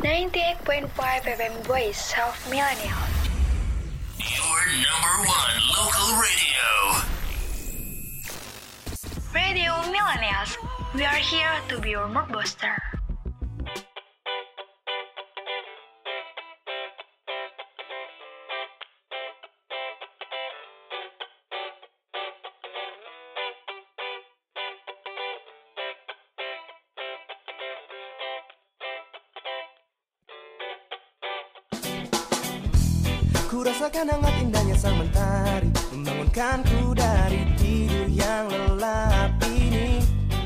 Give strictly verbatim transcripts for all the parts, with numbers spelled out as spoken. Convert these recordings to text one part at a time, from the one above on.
ninety-eight point five F M Voice of Millennial. Your number one local radio. Radio Millennials. We are here to be your mood booster. Ku rasakan hangat indahnya sang mentari membangunkanku dari tidur yang lelap ini.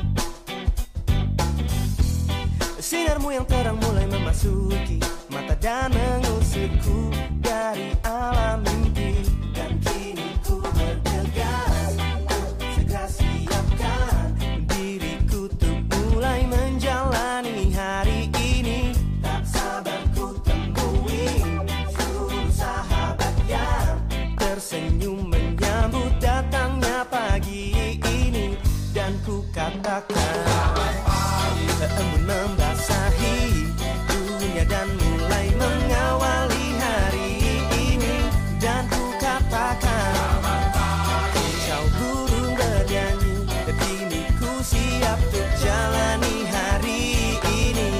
Sinarmu yang terang mulai memasuki mata dan mengusirku dari alam mimpi. Dan kini ku bergegas, segera siapkan diriku untuk mulai menjalani hari ini. Tak sabar ku temui seluruh sahabat yang tersenyum menyambut datangnya pagi ini. Dan ku katakan embun membasahi dunia dan mulai mengawali hari ini. Dan ku katakan kicau burung bernyanyi, dan kini ku siap untuk jalani hari ini.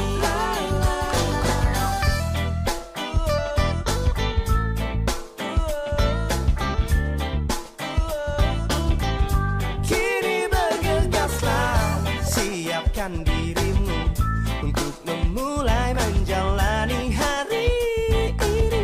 Kini bergegaslah, siapkan dirimu untuk memulai menjalani hari ini.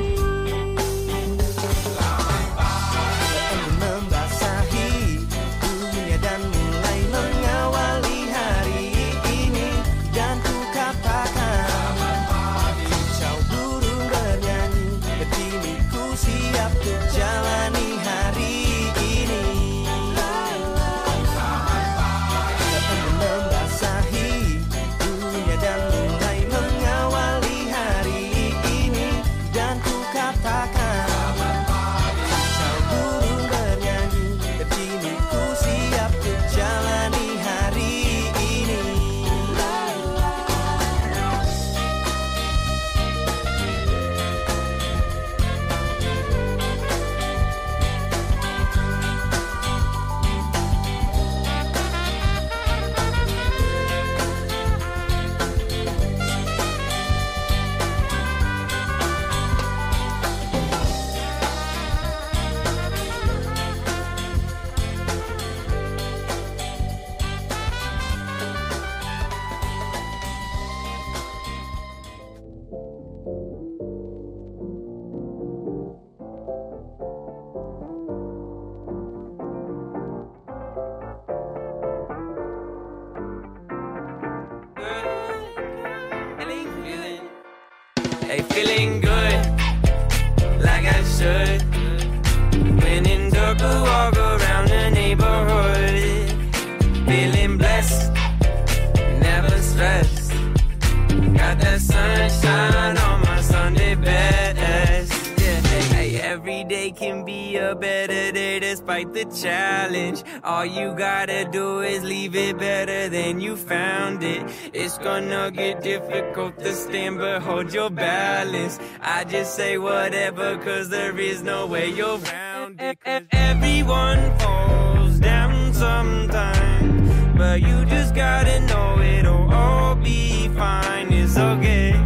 Embun membasahi dunia dan mulai mengawali hari ini. Dan ku katakan kicau burung bernyanyi, dan kini ku siap untuk jalani hari ini. Embun membasahi dunia dan mulai mengawali hari ini. Dan ku katakan kicau burung bernyanyi, dan kini ku siap untuk jalani hari ini. Hey, feeling good, like I should. When in dark, I walk around the neighborhood. Feeling blessed, never stressed. Got that sunshine on my Sunday best. Yeah, hey, every day can be a better day despite the challenge. All you gotta do is leave it better than you found it. It's gonna get difficult to stand, but hold your balance. I just say whatever, cause there is no way you're around it. Everyone falls down sometimes, but you just gotta know it'll all be fine. It's okay.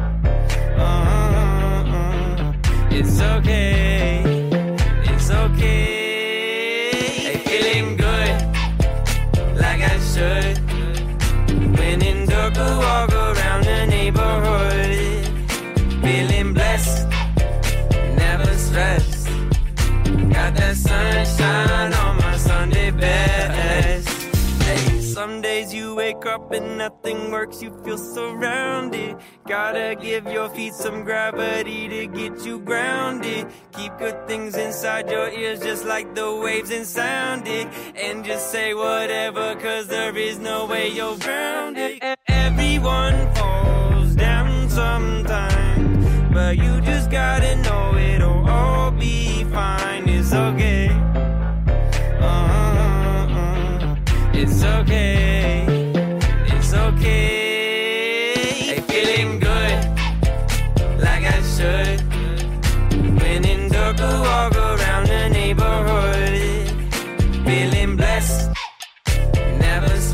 Uh-uh-uh. It's okay. It's okay. Hey, feeling good, like I should. When in dark, I walk around the neighborhood. Feeling blessed, never stressed. Got that sunshine on my Sunday best. Hey, some days you wake up and nothing works, you feel surrounded. Gotta give your feet some gravity to get you grounded. Keep good things inside your ears just like the waves and sound it. And just say whatever, cause there is no way you're grounded. Everyone falls down sometimes, but you just gotta know it'll all be fine. It's okay. Uh-uh-uh. It's okay. It's okay. Hey, feeling good,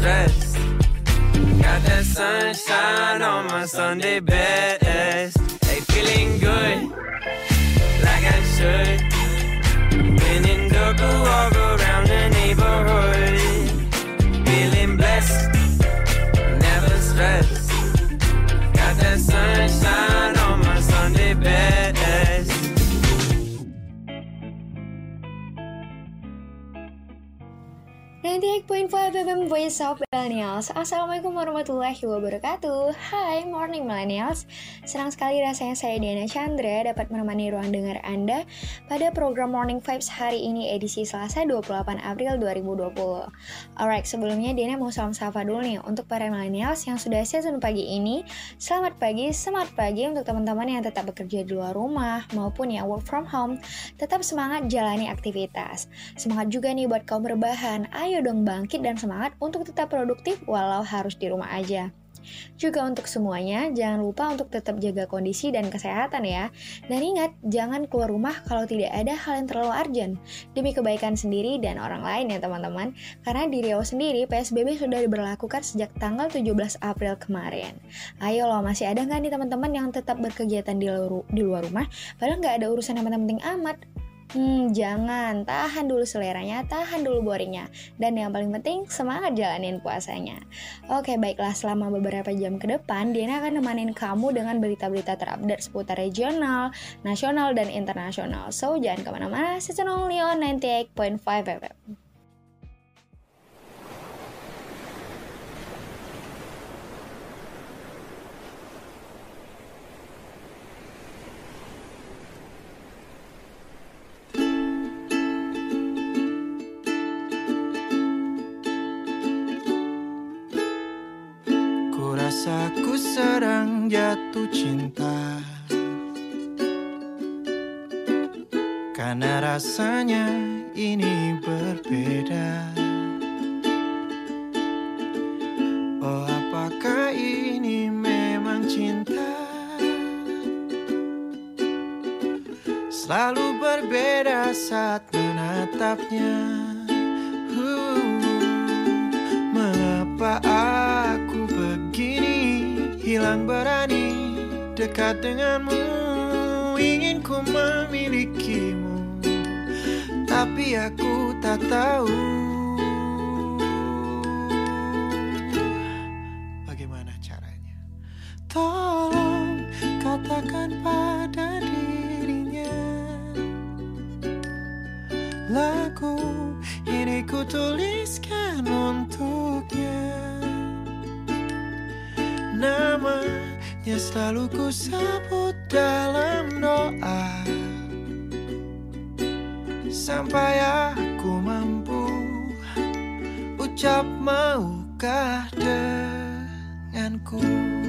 stress. Got that sunshine on my Sunday best. Hey, feeling good, like I should. When in Doku, walk around the neighborhood. Feeling blessed, never stressed. Got that sunshine on my Sunday best. ninety-eight point five F M Voice of Millennials. Assalamualaikum warahmatullahi wabarakatuh. Hai Morning Millennials. Senang sekali rasanya saya Diana Chandra dapat menemani ruang dengar Anda pada program Morning Vibes hari ini edisi Selasa dua puluh delapan April dua ribu dua puluh. Alright, sebelumnya Diana mau salam sapa dulu nih untuk para Millennials yang sudah season pagi ini. Selamat pagi, semangat pagi untuk teman-teman yang tetap bekerja di luar rumah maupun yang work from home. Tetap semangat jalani aktivitas. Semangat juga nih buat kaum berbahan. Ayo dong bangkit dan semangat untuk tetap produktif walau harus di rumah aja. Juga untuk semuanya, jangan lupa untuk tetap jaga kondisi dan kesehatan ya. Dan ingat, jangan keluar rumah kalau tidak ada hal yang terlalu urgent. Demi kebaikan sendiri dan orang lain ya teman-teman. Karena di Riau sendiri, P S B B sudah diberlakukan sejak tanggal tujuh belas April kemarin. Ayo loh, masih ada nggak nih teman-teman yang tetap berkegiatan di luar, di luar rumah, padahal nggak ada urusan yang penting amat? Hmm, jangan, tahan dulu seleranya, tahan dulu boringnya. Dan yang paling penting, semangat jalanin puasanya. Oke, baiklah, selama beberapa jam ke depan, Diana akan nemanin kamu dengan berita-berita terupdate seputar regional, nasional, dan internasional. So, jangan kemana-mana, stay only on ninety-eight point five F M. Aku sedang jatuh cinta karena rasanya ini berbeda. Oh, apakah ini memang cinta? Selalu berbeda saat menatapnya. uh, Mengapa aku begini? Hilang berani dekat denganmu. Ingin ku memilikimu, tapi aku tak tahu bagaimana caranya. Tolong katakan pada dirinya, lagu ini ku tuliskan untuknya. Namanya selalu ku sebut dalam doa, sampai aku mampu ucap maukah denganku.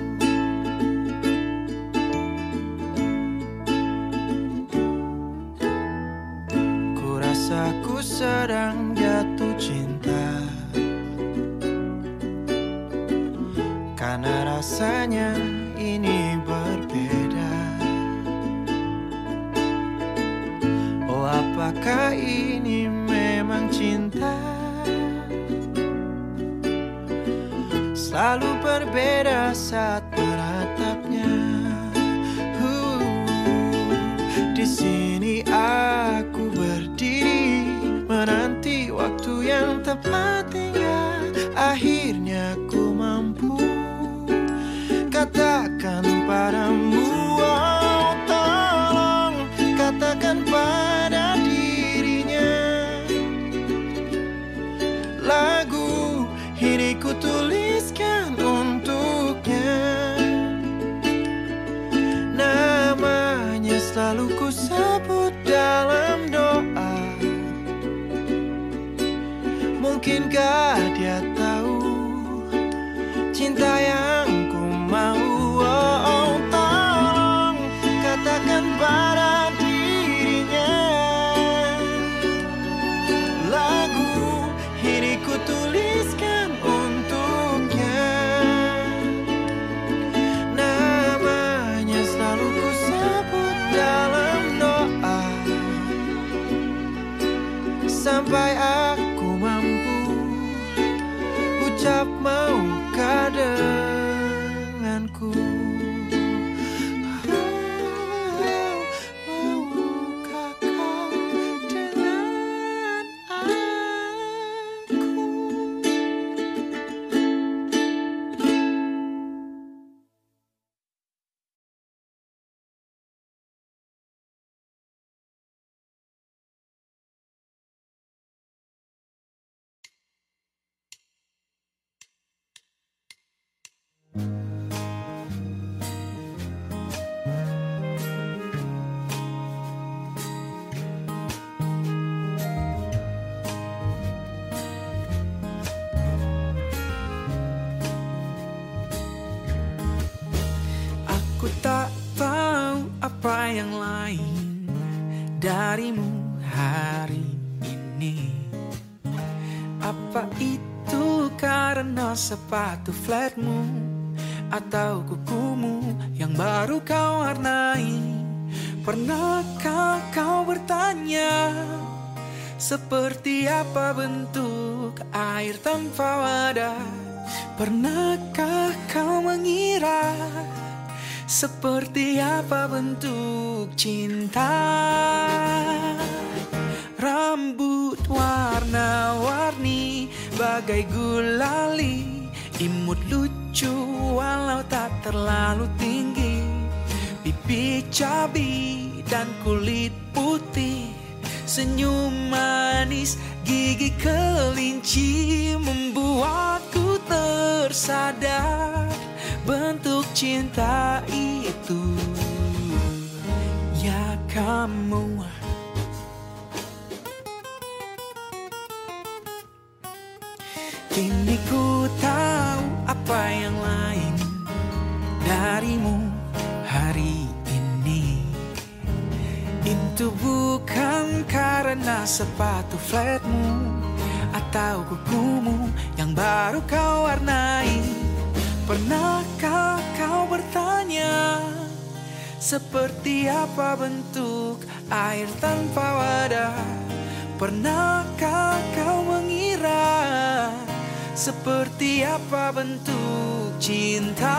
Ku rasa ku sedang jatuh cinta karena rasanya ini berbeda. Oh, apakah ini memang cinta? Selalu berbeda saat menatapnya. uh, Di sini aku berdiri menanti waktu yang tepat hingga akhirnya ku mampu katakan padamu. Oh, tolong katakan pada dirinya, lagu ini ku tuliskan untuknya. Namanya selalu ku sebut dalam doa. Mungkinkah dia tahu ucap maukah denganku. Maukah kau dengan aku. Aku tak tahu apa yang lain darimu hari ini. Apa itu karena sepatu flatmu atau kukumu yang baru kau warnai? Pernahkah kau bertanya seperti apa bentuk air tanpa wadah? Pernahkah kau mengira seperti apa bentuk cinta? Rambut warna-warni bagai gulali, imut lucu walau tak terlalu tinggi. Pipi cabi dan kulit putih, senyum manis gigi kelinci, membuatku tersadar bentuk cinta itu. Ya kamu, kini ku tahu apa yang lain darimu hari ini. Itu bukan karena sepatu flatmu atau kukumu yang baru kau warnai. Pernahkah kau bertanya seperti apa bentuk air tanpa wadah? Pernahkah kau mengira seperti apa bentuk cinta?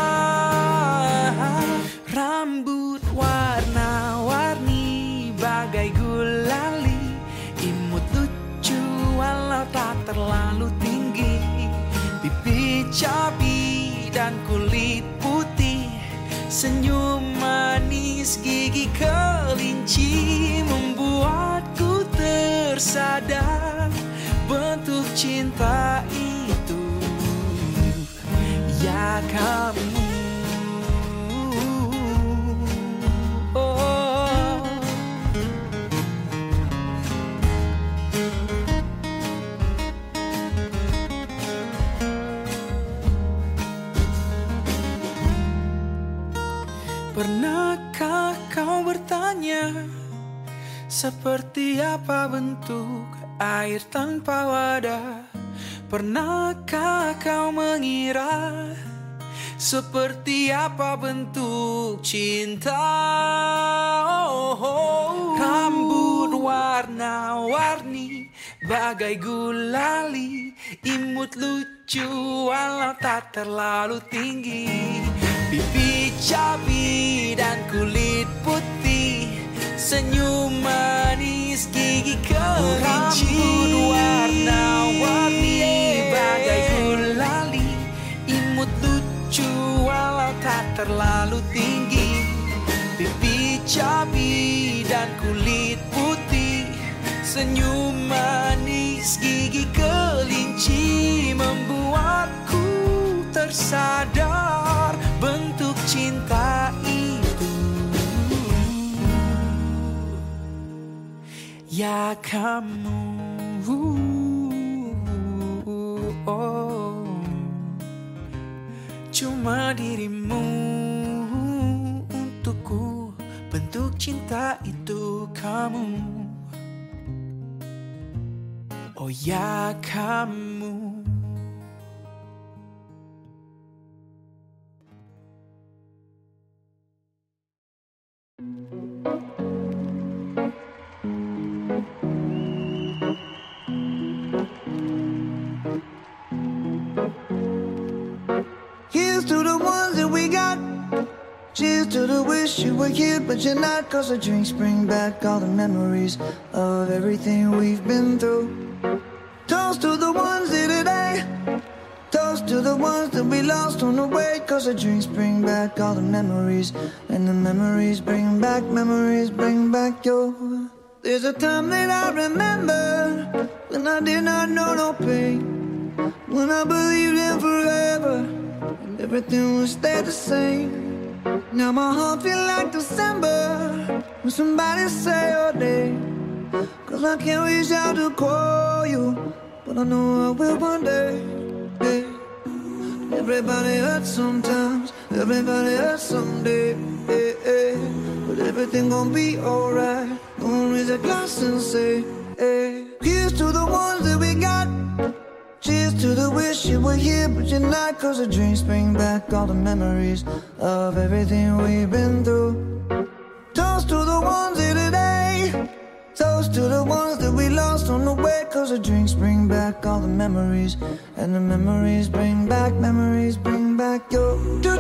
Rambut warna-warni bagai gulali, imut lucu walau tak terlalu tinggi. Pipi cabi dan kulit putih, senyum manis gigi kelinci, membuatku tersadar bentuk cinta itu. Ya kamu, oh. Pernahkah kau bertanya seperti apa bentuk air tanpa wadah? Pernahkah kau mengira seperti apa bentuk cinta? Oh, oh. Rambut warna-warni bagai gulali, imut lucu walau tak terlalu tinggi. Pipi cabi dan kulit putih, senyum manis gigi kelinci. Rambut warna-warni bagai gulali, imut lucu walau tak terlalu tinggi. Pipi cabi dan kulit putih, senyum manis gigi kelinci, membuatku tersadar bentuk cinta itu. Ya kamu, oh. Cuma dirimu untukku, bentuk cinta itu kamu. Oh ya kamu. to the wish you were here, but you're not. Cause the drinks bring back all the memories of everything we've been through. Toast to the ones here today. Toast to the ones that we lost on the way. Cause the drinks bring back all the memories. And the memories bring back, memories bring back your. There's a time that I remember when I did not know no pain, when I believed in forever and everything would stay the same. Now my heart feel like December when somebody say your name. Cause I can't reach out to call you, but I know I will one day. Hey. Everybody hurts sometimes, everybody hurts someday. Hey, hey. But everything gon' be alright. Gonna raise a glass and say, hey. Here's to the ones that we got. Cheers to the wish you were here, but you're not. Cause the drinks bring back all the memories of everything we've been through. Toast to the ones here today. Toast to the ones that we lost on the way. Cause the drinks bring back all the memories. And the memories bring back, memories bring back your.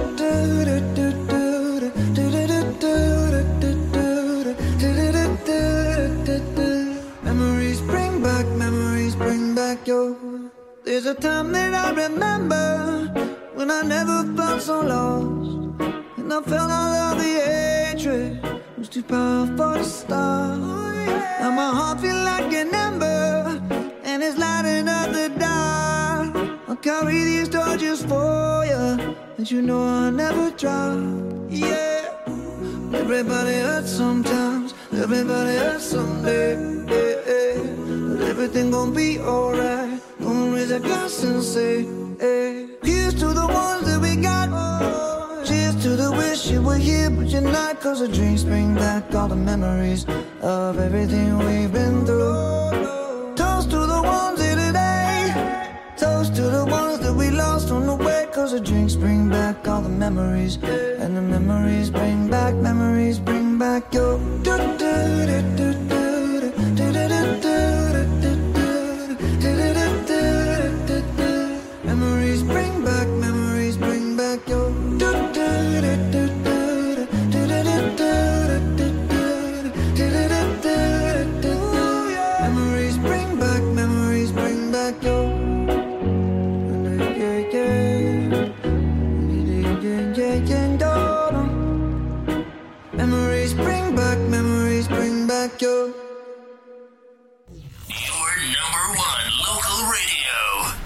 Memories bring back, memories bring back your. There's a time that I remember when I never felt so lost, and I felt all of the hatred was too powerful to stop. Now my heart feel like an ember, and it's lighting up the dark. I'll carry these torches for you, and you know I'll never drop. Yeah, everybody hurts sometimes, everybody hurts someday. Yeah, yeah. But everything gon' be alright. Gonna raise a glass and say, hey. Here's to the ones that we got. Cheers to the wish you were here, but you're not. Cause the drinks bring back all the memories of everything we've been through. Toast to the ones here today. Toast to the ones that we lost on the way. Cause the drinks bring back all the memories. And the memories bring back, memories bring back your. Memories bring back, memories bring back your. Memories bring back, memories bring back your. Memories bring back, memories bring back your. Your number one local radio.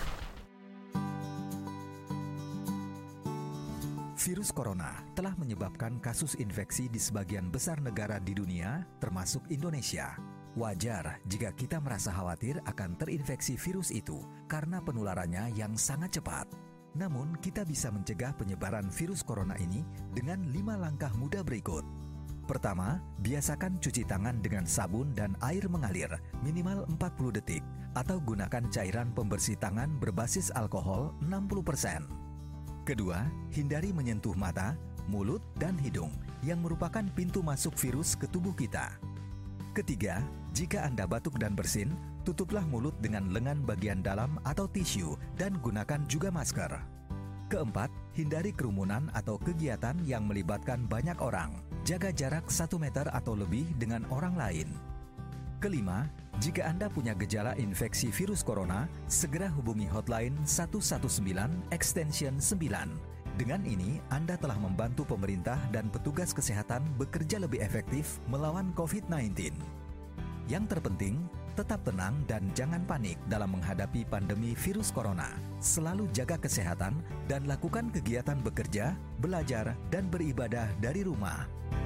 Virus corona telah menyebabkan kasus infeksi di sebagian besar negara di dunia, termasuk Indonesia. Wajar jika kita merasa khawatir akan terinfeksi virus itu karena penularannya yang sangat cepat. Namun, kita bisa mencegah penyebaran virus corona ini dengan lima langkah mudah berikut. Pertama, biasakan cuci tangan dengan sabun dan air mengalir minimal empat puluh detik atau gunakan cairan pembersih tangan berbasis alkohol enam puluh persen. Kedua, hindari menyentuh mata, mulut, dan hidung yang merupakan pintu masuk virus ke tubuh kita. Ketiga, jika Anda batuk dan bersin, tutuplah mulut dengan lengan bagian dalam atau tisu dan gunakan juga masker. Keempat, hindari kerumunan atau kegiatan yang melibatkan banyak orang. Jaga jarak satu meter atau lebih dengan orang lain. Kelima, jika Anda punya gejala infeksi virus corona, segera hubungi hotline satu satu sembilan extension sembilan. Dengan ini, Anda telah membantu pemerintah dan petugas kesehatan bekerja lebih efektif melawan covid sembilan belas. Yang terpenting, tetap tenang dan jangan panik dalam menghadapi pandemi virus corona. Selalu jaga kesehatan dan lakukan kegiatan bekerja, belajar, dan beribadah dari rumah.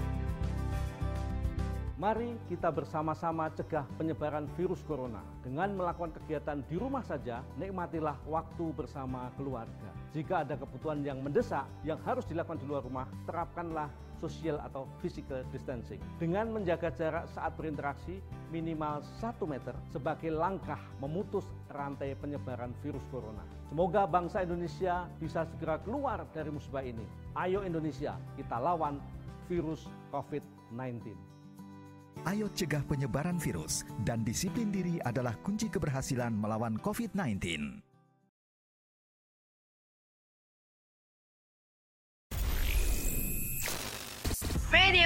Mari kita bersama-sama cegah penyebaran virus corona. Dengan melakukan kegiatan di rumah saja, nikmatilah waktu bersama keluarga. Jika ada kebutuhan yang mendesak yang harus dilakukan di luar rumah, terapkanlah social atau physical distancing. Dengan menjaga jarak saat berinteraksi minimal satu meter sebagai langkah memutus rantai penyebaran virus corona. Semoga bangsa Indonesia bisa segera keluar dari musibah ini. Ayo Indonesia, kita lawan virus covid sembilan belas. Ayo cegah penyebaran virus dan disiplin diri adalah kunci keberhasilan melawan covid sembilan belas.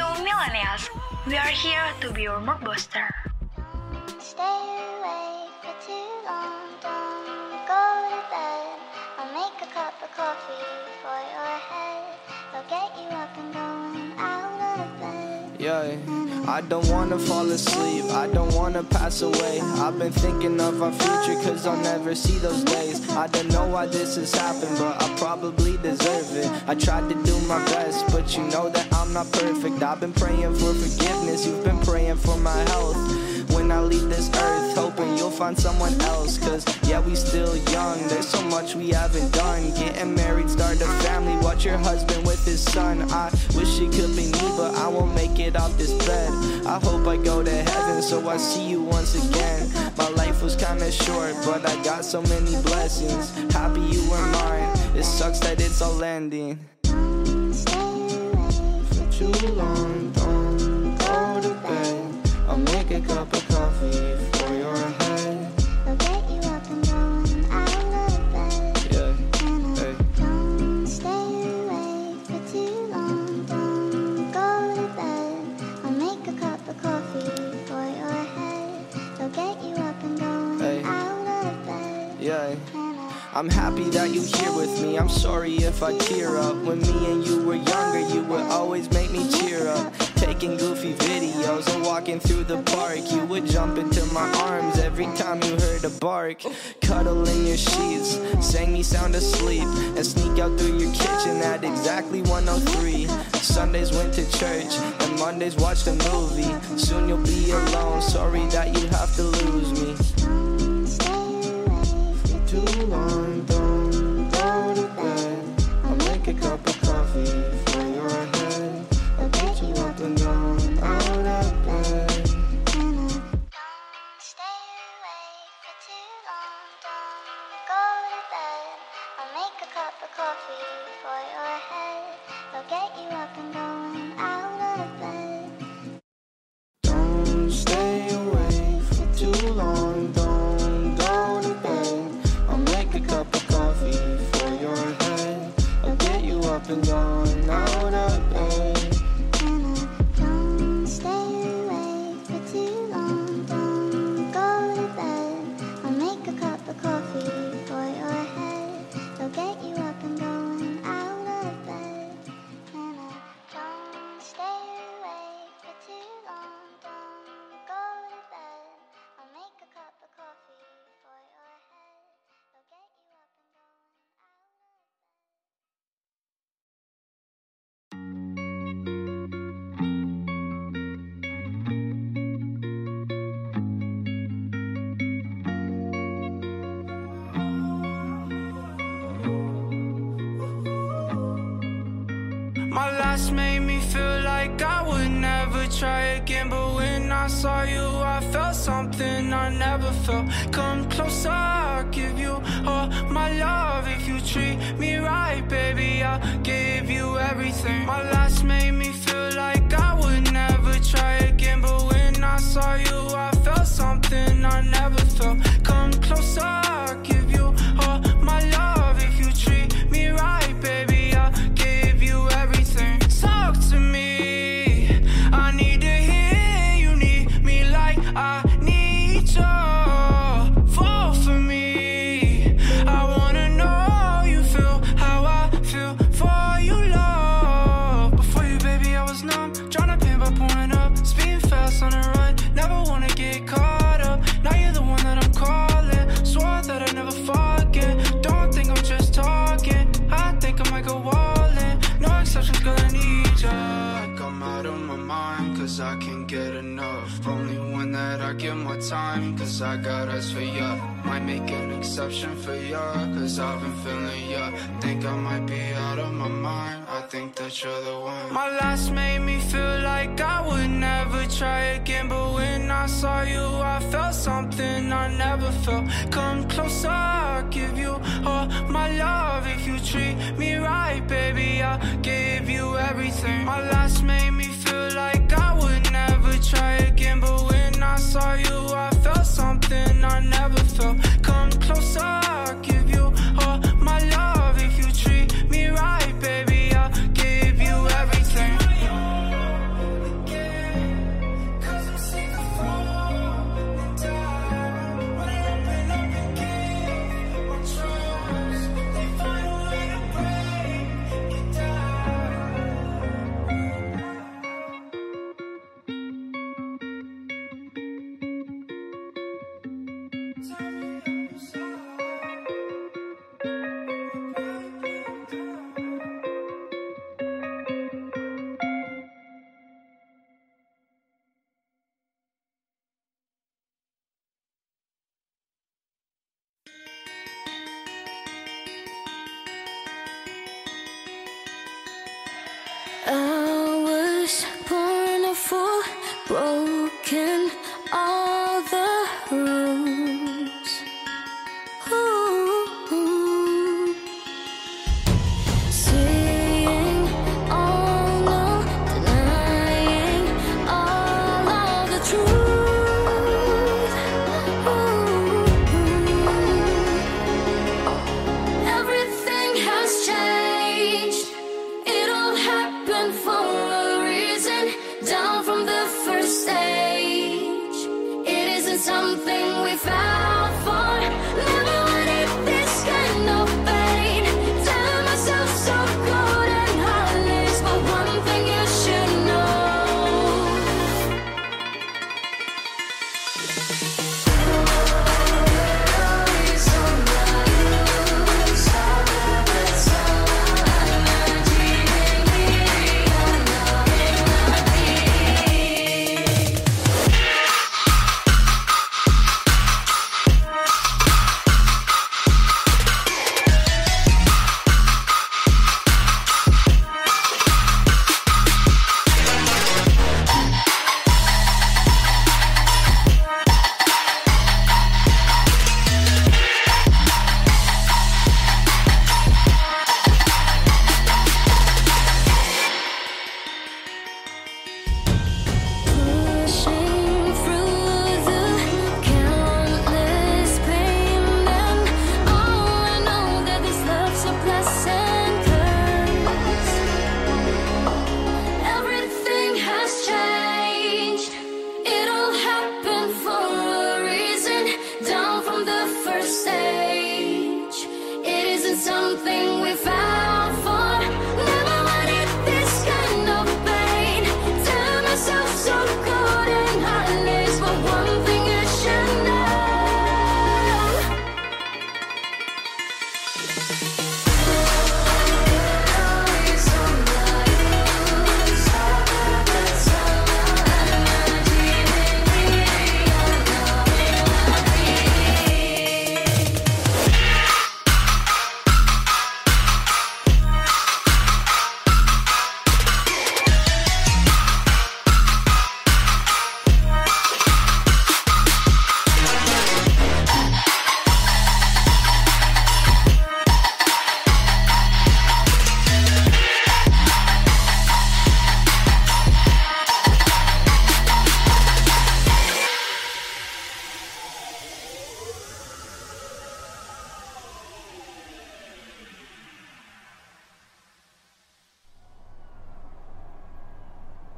millennials, we are here to be your mood booster. Stay awake for too long, don't go to bed. I'll make a cup of coffee for your head. I'll get you up and going out of bed. Yeah, I don't wanna fall asleep, I don't wanna pass away. I've been thinking of our future cause I'll never see those days. I don't know why this has happened, but I probably deserve it. I tried to do my best, but you know that I'm not perfect. I've been praying for forgiveness, you've been praying for my health. When I leave this earth, hoping you'll find someone else. Cause yeah, we still young, there's so much we haven't done. Getting married, start a family, watch your husband with his son. I wish it could be me, but I won't make it off this bed. I hope I go to heaven, so I see you once again. My life was kinda short, but I got so many blessings. Happy you were mine, it sucks that it's all ending. For too long, don't go to bed. I'll make a cup of coffee for your head. I'll get you up and going out of bed. Yeah, hey. Don't stay awake for too long, don't go to bed. I'll make a cup of coffee for your head. I'll get you up and going Hey. out of bed. Yeah. I'm happy that you here with me, I'm sorry if I tear up. When me and you were younger, you would always make me cheer up. Taking goofy videos and walking through the park, you would jump into my arms every time you heard a bark. Cuddle in your sheets, sang me sound asleep, and sneak out through your kitchen at exactly one oh three. Sundays went to church, and Mondays watched a movie. Soon you'll be alone, sorry that you have to lose me. Too long, don't go to bed. I'll make a cup of coffee for your head. I'll get you up and going out of bed. Don't stay awake for too long, don't go to bed. I'll make a cup of coffee for your head. I'll get you up and going out of bed. Don't stay awake for too long, don't go to bed. I'll make a cup of coffee for your head. I'll get you up and going out of bed. Don't stay awake for too long, don't go to bed. I'll make a cup of coffee for your head. I'll get you up and going out of bed. Don't stay awake for too long, don't go to bed. I'll make a cup of coffee for your head. I'll get you up and going out of bed. My last made me feel like I would never try again, but when I saw you, I felt something I never felt. Come closer, I'll give you all my love. If you treat me right, baby, I'll give you everything. My last made me feel like I would never try again, but when I saw you, I felt something I never felt. Come closer, I'll give you all my love. If you treat me right, baby, I'll give you everything. Talk to me, I need to hear you need me like I need you. Fall for me, I wanna know you feel how I feel for you, love. Before you, baby, I was numb, tryna paint by pouring up, speeding fast on the run, never wanna get caught up. Now you're the one that I'm calling, swore that I'd never forget. Don't think I'm just talking, I think I might go all in. No exceptions, girl, I need ya. Like I'm out of my mind, cause I can't get enough. Only one that I give my time, cause I got eyes for ya. Might make an exception for ya, cause I've been feeling ya. Think I might be out of my mind, I think that you're the one. My last made me feel like I would never try again, but when I saw you, I felt something I never felt. Come closer, I'll give you all my love. If you treat me right, baby, I'll give you everything. My last made me feel like I would never try again, but when I saw you, I felt something I never felt. Come closer, I'll give you all my love. If you treat me right, baby, I'll give you everything.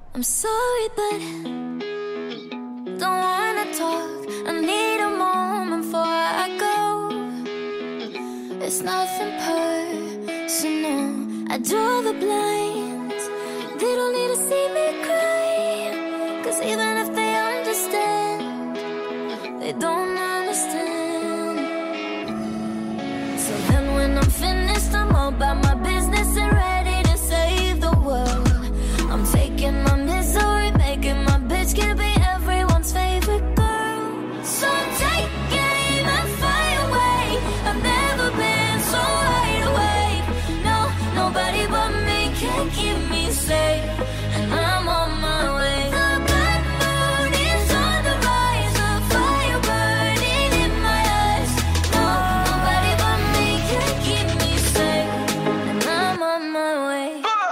I'm sorry, but don't wanna talk. I need a moment before I go. It's nothing personal. I draw the blinds. They don't need to see me cry. Cause even if they understand, they don't understand. So then when I'm finished, I'm all about my business and ready to save the world. I'm faking my misery, making my bitch can be everyone's favorite girl. So take aim and fly away. I've never been so wide awake. No, nobody but me can keep me safe. And I'm on my way. The black moon is on the rise, a fire burning in my eyes. No, nobody but me can keep me safe. And I'm on my way.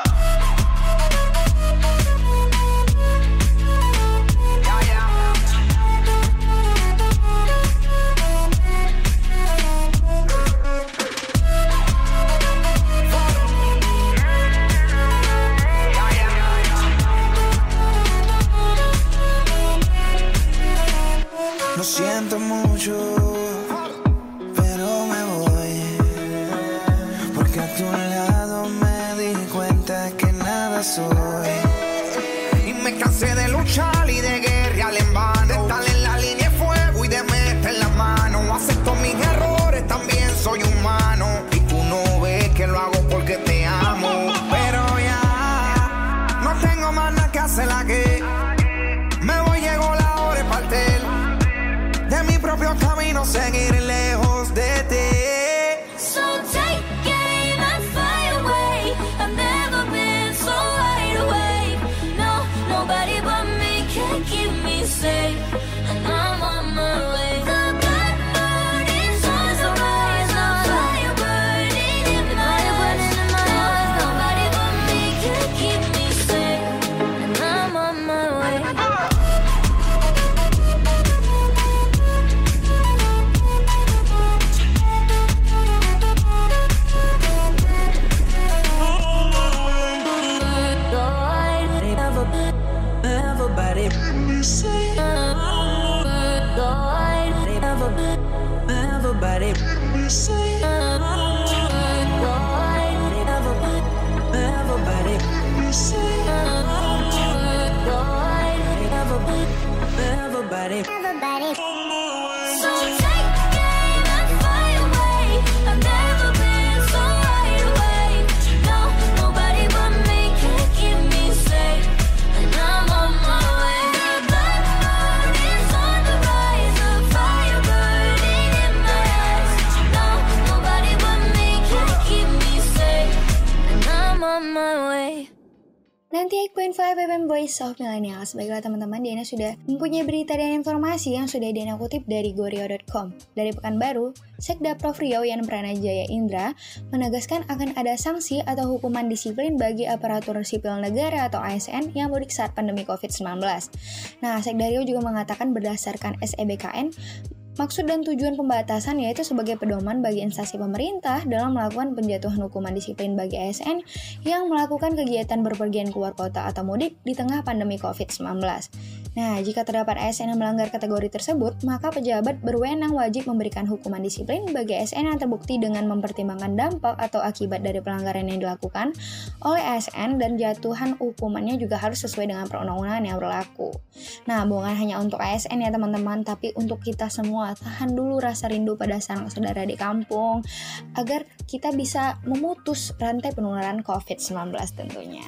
Lo siento mucho, pero me voy. Porque a tu lado me di cuenta que nada soy. Y me cansé de luchar y de guerrear en vano. De estar en la línea de fuego y de meter la mano. Acepto mis errores, también soy humano. Y tú no ves que lo hago porque te amo. Pero ya no tengo más nada que hacer aquí. Me voy, llegó la hora de partir. De mi propio camino, seguir lejos de ti. So take aim and fly away. I've never been so wide awake. No, nobody but me can keep me safe. And I'm on my way. The black moon is on the rise, a fire burning in my eyes. No, nobody but me can keep me safe. And I'm on my way. Everybody, everybody, everybody, everybody. So take aim and fly away. I've never been so wide awake. No, nobody but me can keep me safe. And I'm on my way. The black moon is on the rise, a fire burning in my eyes. No, nobody but me can keep me safe. And I'm on my way. sembilan puluh delapan koma lima F M Voice of Millennials. Baiklah teman-teman, Diana sudah mempunyai berita dan informasi yang sudah Diana kutip dari gorio dot com. Dari Pekanbaru, Sekda Prof Riau Yan Pranajaya Indra menegaskan akan ada sanksi atau hukuman disiplin bagi aparatur sipil negara atau A S N yang mudik saat pandemi covid sembilan belas. Nah, Sekda Riau juga mengatakan berdasarkan S E B K N, maksud dan tujuan pembatasan yaitu sebagai pedoman bagi instansi pemerintah dalam melakukan penjatuhan hukuman disiplin bagi A S N yang melakukan kegiatan berpergian keluar kota atau mudik di tengah pandemi covid sembilan belas. Nah, jika terdapat A S N yang melanggar kategori tersebut, maka pejabat berwenang wajib memberikan hukuman disiplin bagi A S N yang terbukti dengan mempertimbangkan dampak atau akibat dari pelanggaran yang dilakukan oleh A S N, dan jatuhan hukumannya juga harus sesuai dengan perundang-undangan yang berlaku. Nah, bukan hanya untuk A S N ya teman-teman, tapi untuk kita semua. Tahan dulu rasa rindu pada sanak saudara di kampung agar kita bisa memutus rantai penularan covid sembilan belas tentunya.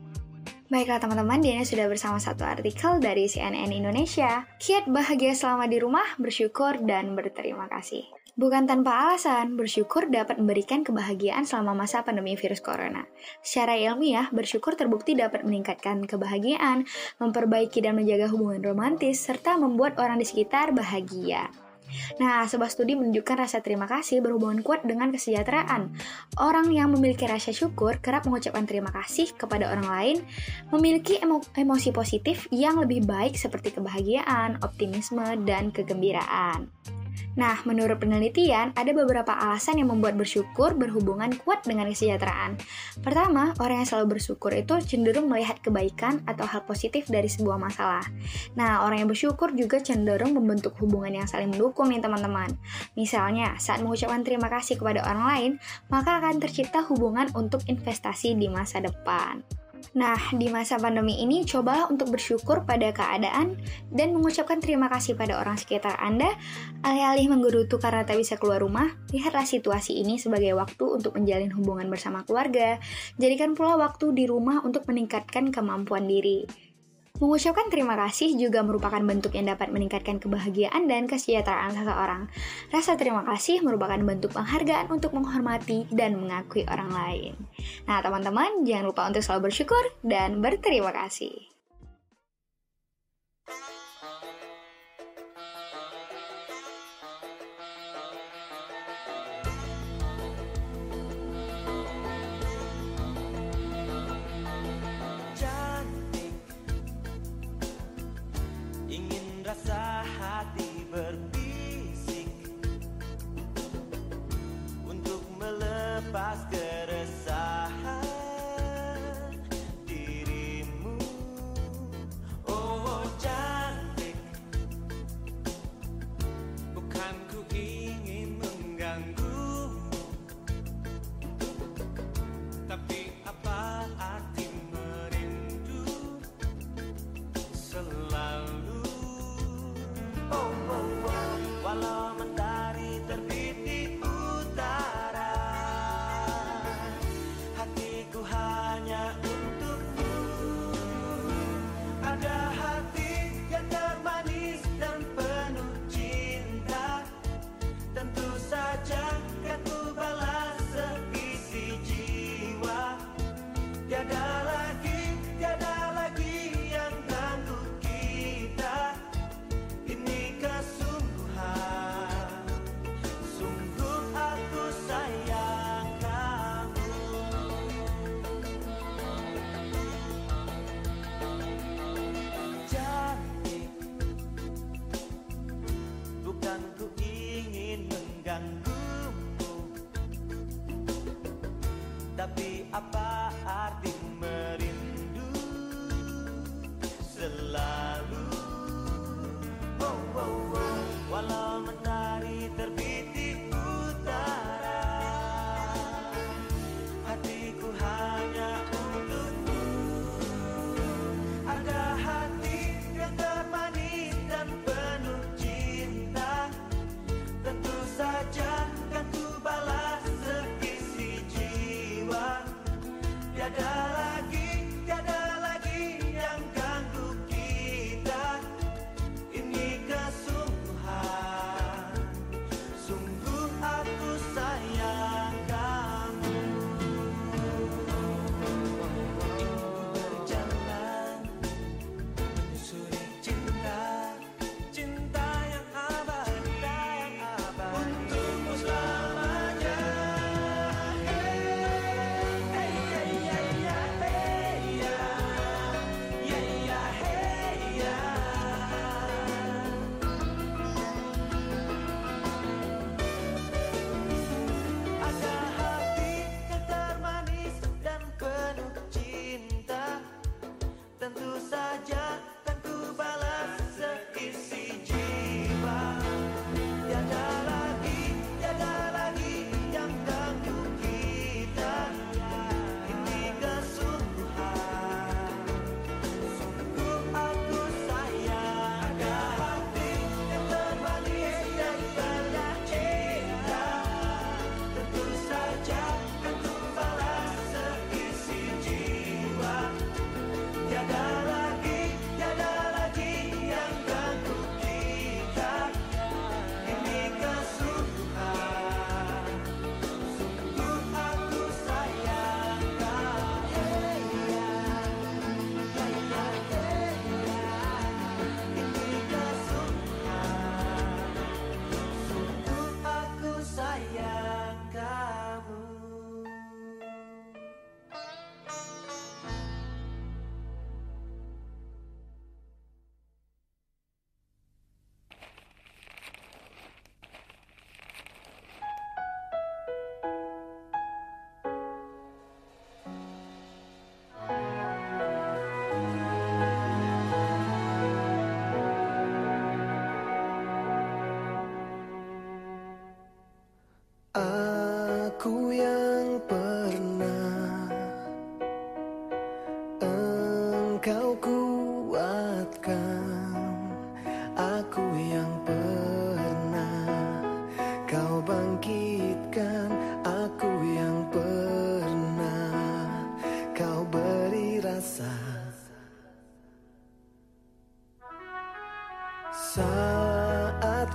Baiklah teman-teman, Diana sudah bersama satu artikel dari C N N Indonesia. Kiat bahagia selama di rumah, bersyukur dan berterima kasih. Bukan tanpa alasan, bersyukur dapat memberikan kebahagiaan selama masa pandemi virus corona. Secara ilmiah, bersyukur terbukti dapat meningkatkan kebahagiaan, memperbaiki dan menjaga hubungan romantis, serta membuat orang di sekitar bahagia. Nah, sebuah studi menunjukkan rasa terima kasih berhubungan kuat dengan kesejahteraan. Orang yang memiliki rasa syukur kerap mengucapkan terima kasih kepada orang lain, memiliki emo- emosi positif yang lebih baik seperti kebahagiaan, optimisme, dan kegembiraan. Nah, menurut penelitian, ada beberapa alasan yang membuat bersyukur berhubungan kuat dengan kesejahteraan. Pertama, orang yang selalu bersyukur itu cenderung melihat kebaikan atau hal positif dari sebuah masalah. Nah, orang yang bersyukur juga cenderung membentuk hubungan yang saling mendukung nih teman-teman. Misalnya, saat mengucapkan terima kasih kepada orang lain, maka akan tercipta hubungan untuk investasi di masa depan. Nah, di masa pandemi ini, cobalah untuk bersyukur pada keadaan dan mengucapkan terima kasih pada orang sekitar Anda. Alih-alih menggerutu karena tak bisa keluar rumah, lihatlah situasi ini sebagai waktu untuk menjalin hubungan bersama keluarga. Jadikan pula waktu di rumah untuk meningkatkan kemampuan diri. Mengucapkan terima kasih juga merupakan bentuk yang dapat meningkatkan kebahagiaan dan kesejahteraan seseorang. Rasa terima kasih merupakan bentuk penghargaan untuk menghormati dan mengakui orang lain. Nah, teman-teman, jangan lupa untuk selalu bersyukur dan berterima kasih. Rasa hati berbisik untuk melepas keresahan dirimu. Oh cantik, bukan ku ingin mengganggumu, tapi apa arti merindu selalu. Oh, oh, oh. Walau mentari terbit di utara, hatiku hanya untukmu. Ada hati yang termanis dan penuh cinta, tentu saja kan ku balas seisi jiwa. Tiada lagi, tiada lagi yang ganggu kita. Ini kesungguhan, sungguh aku sayang kamu. Cantik, bukan ku ingin mengganggumu, tapi apa arti merindu selalu. Oh, oh, oh. Walau mentari terbit di utara, hatiku hanya untukmu. Ada hati yang termanis dan penuh cinta, tentu saja kan ku balas seisi jiwa. Tiada lagi, tiada lagi yang ganggu kita.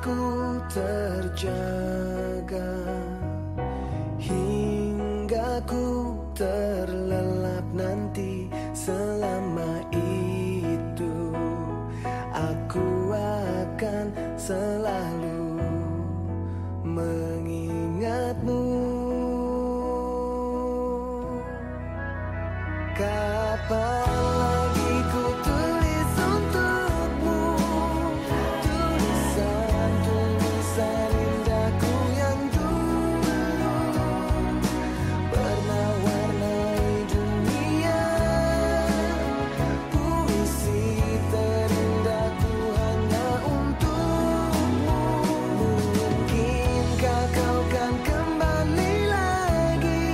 ku terjaga hingga ku terlelap nanti. Selama itu aku akan selalu mengingatmu. Kapan lagi ku tulis untukmu tulisan-tulisan indahku yang dulu pernah warnai dunia. Puisi terindahku hanya untukmu. Mungkinkah kau kan kembali lagi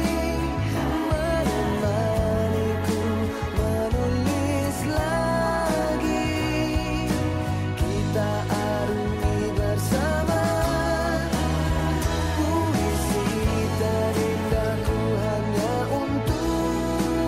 menemaniku menulis lagi. Kita arungi bersama puisi terindahku hanya untukmu.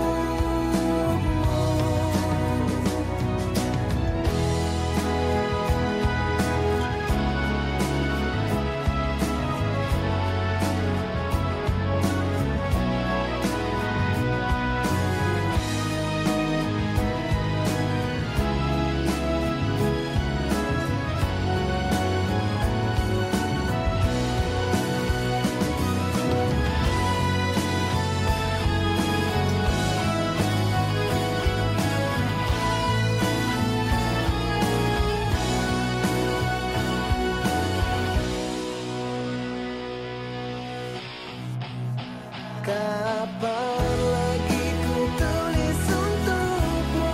Kapan lagi ku tulis untukmu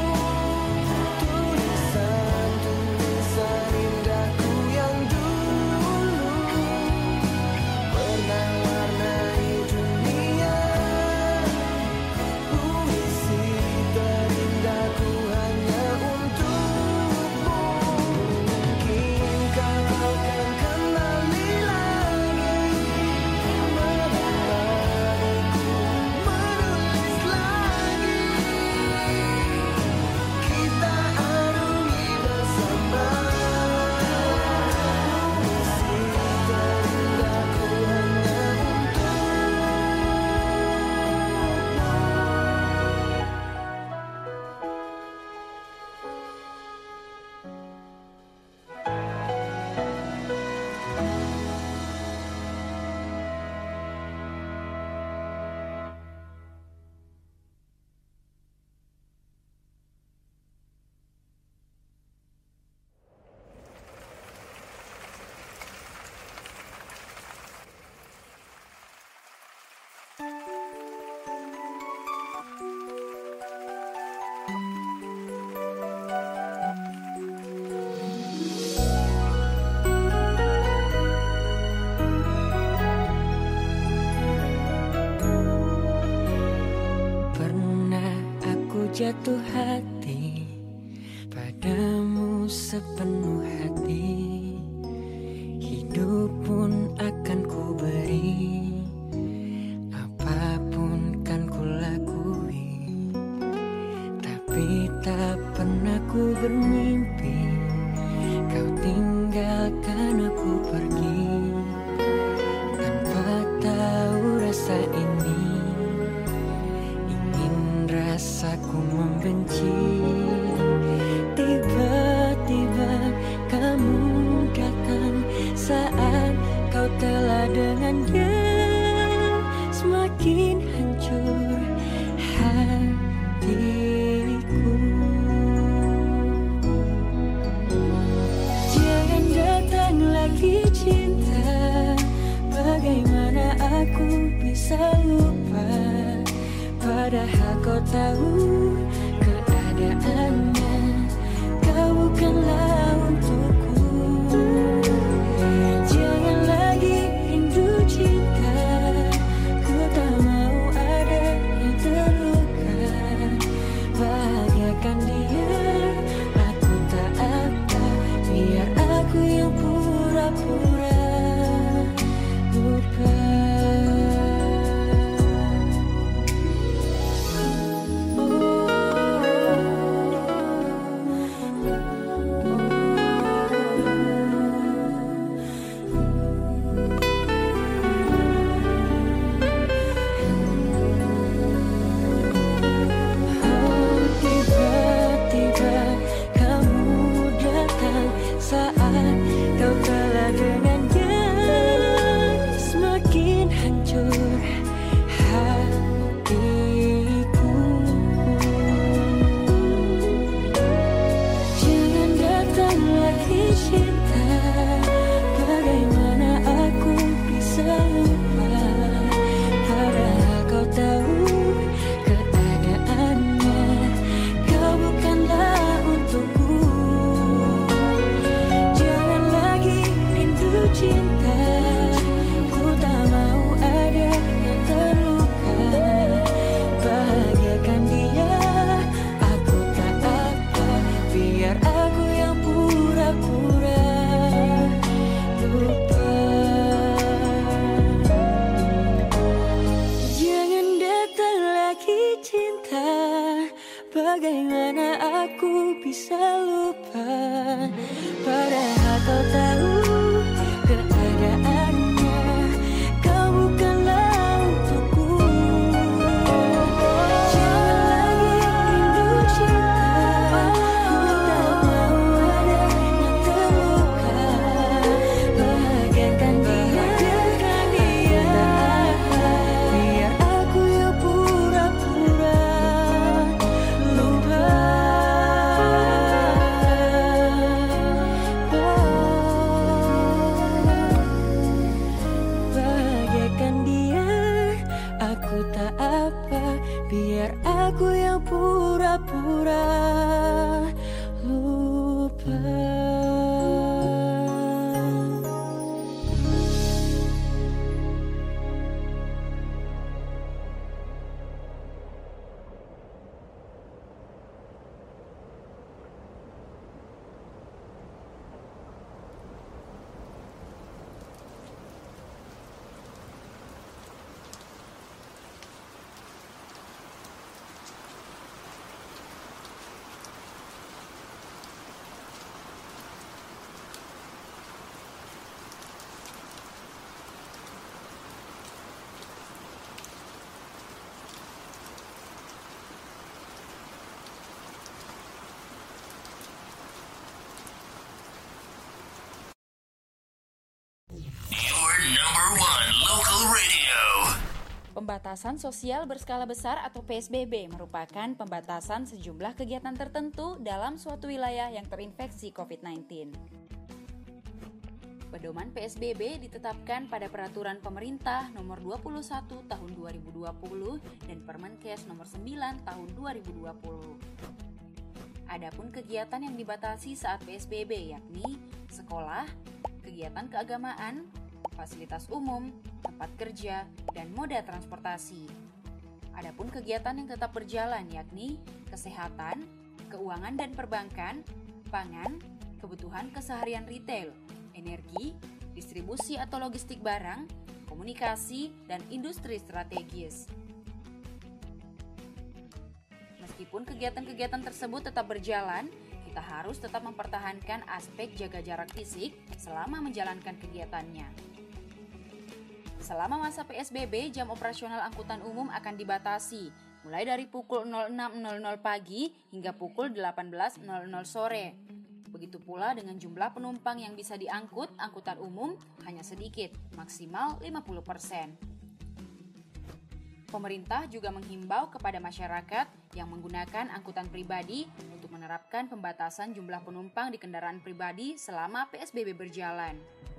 tulisan-tulisan indahku yang dulu pernah warnai dunia. Puisi terindahku hanya untukmu. Mungkinkah kau kan kembali lagi menemaniku menulis lagi. Kita arungi bersama puisi terindahku hanya pernah aku jatuh hati padamu sepenuh hati. Hidup pun akan ku beri, apapun kan ku lakui. Tapi tak pernah ku bermimpi kau tinggalkan aku pergi. Tanpa tahu rasa ini, ingin rasaku membenci. Tiba-tiba kamu datang saat kau telah dengan dia semakin hancur hatiku. Jangan datang lagi cinta, bagaimana aku bisa lupa, padahal kau tahu keadaannya, kau bukanlah untukku. Jangan lagi rindu cinta, ku tak mau ada yang terluka. Bahagiakan dia, aku tak apa, biar aku yang pura-pura lupa. Oh, Bagaimana aku bisa lupa, padahal kau tahu keadaannya. Kau bukanlah untukku. Jangan lagi rindu cinta, ku tak mau ada yang terluka. Bahagiakan dia, biar aku yang pura-pura lupa. Bahagiakan dia, aku tak apa, biar aku yang pura-pura lupa. Your number one local radio. Pembatasan sosial berskala besar atau P S B B merupakan pembatasan sejumlah kegiatan tertentu dalam suatu wilayah yang terinfeksi covid sembilan belas. Pedoman P S B B ditetapkan pada Peraturan Pemerintah Nomor dua puluh satu Tahun dua ribu dua puluh dan Permenkes Nomor sembilan Tahun dua ribu dua puluh. Adapun kegiatan yang dibatasi saat P S B B yakni sekolah, kegiatan keagamaan, fasilitas umum, tempat kerja, dan moda transportasi. Adapun kegiatan yang tetap berjalan yakni kesehatan, keuangan dan perbankan, pangan, kebutuhan keseharian retail, energi, distribusi atau logistik barang, komunikasi, dan industri strategis. Meskipun kegiatan-kegiatan tersebut tetap berjalan, kita harus tetap mempertahankan aspek jaga jarak fisik selama menjalankan kegiatannya. Selama masa P S B B, jam operasional angkutan umum akan dibatasi, mulai dari pukul enam nol nol pagi hingga pukul delapan belas nol nol sore. Begitu pula dengan jumlah penumpang yang bisa diangkut angkutan umum hanya sedikit, maksimal lima puluh persen. Pemerintah juga menghimbau kepada masyarakat yang menggunakan angkutan pribadi untuk menerapkan pembatasan jumlah penumpang di kendaraan pribadi selama P S B B berjalan.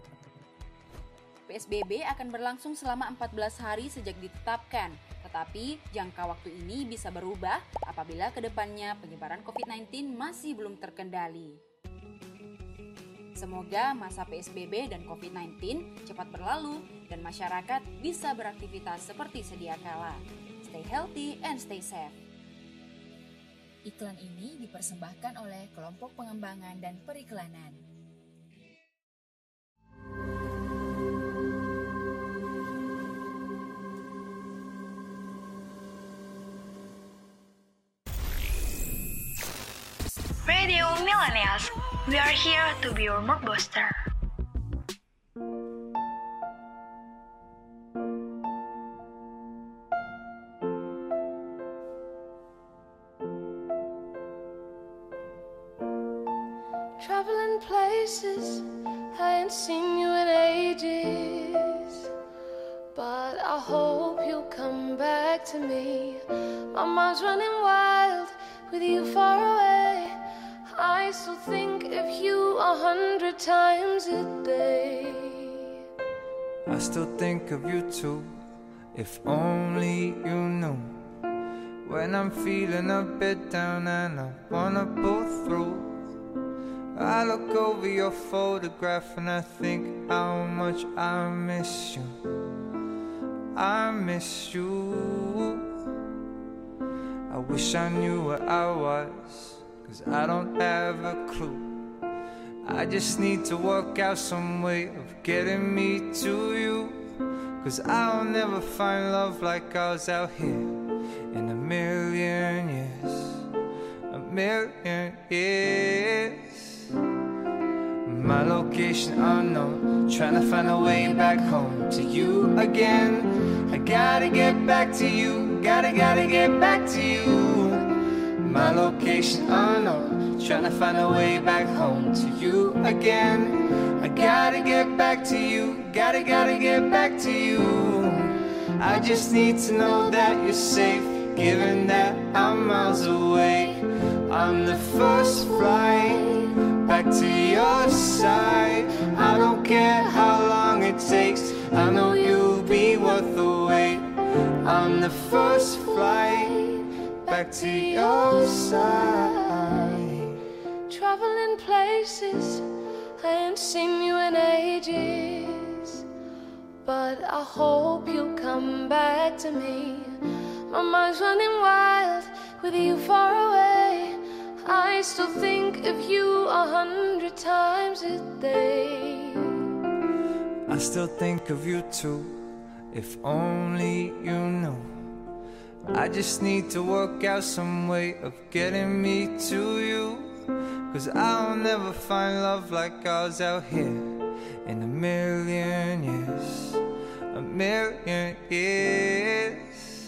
P S B B akan berlangsung selama empat belas hari sejak ditetapkan, tetapi jangka waktu ini bisa berubah apabila ke depannya penyebaran covid sembilan belas masih belum terkendali. Semoga masa P S B B dan covid sembilan belas cepat berlalu dan masyarakat bisa beraktivitas seperti sedia kala. Stay healthy and stay safe. Iklan ini dipersembahkan oleh Kelompok Pengembangan dan Periklanan. Radio Millennials, we are here to be your mood booster. Traveling places, I ain't seen you in ages, but I hope you'll come back to me. My mind's running wild with you far away. I still think of you a hundred times a day. I still think of you too, if only you knew. When I'm feeling a bit down and I wanna pull through, I look over your photograph and I think how much I miss you. I miss you. I wish I knew where I was, 'cause I don't have a clue. I just need to work out some way of getting me to you, 'cause I'll never find love like ours out here in a million years. million years. My location unknown, trying to find a way back home to you again. I gotta get back to you, gotta, gotta get back to you. My location unknown, trying to find a way back home to you again. I gotta get back to you, gotta, gotta get back to you. I just need to know that you're safe, given that I'm miles away. I'm the first flight back to your side. I don't care how long it takes, I know you'll be worth the wait. I'm the first flight back to your side. Traveling places, I ain't seen you in ages, but I hope you'll come back to me. My mind's running wild with you far away. I still think of you a hundred times a day. I still think of you too, if only you knew. I just need to work out some way of getting me to you, 'cause I'll never find love like ours out here in a million years, a million years.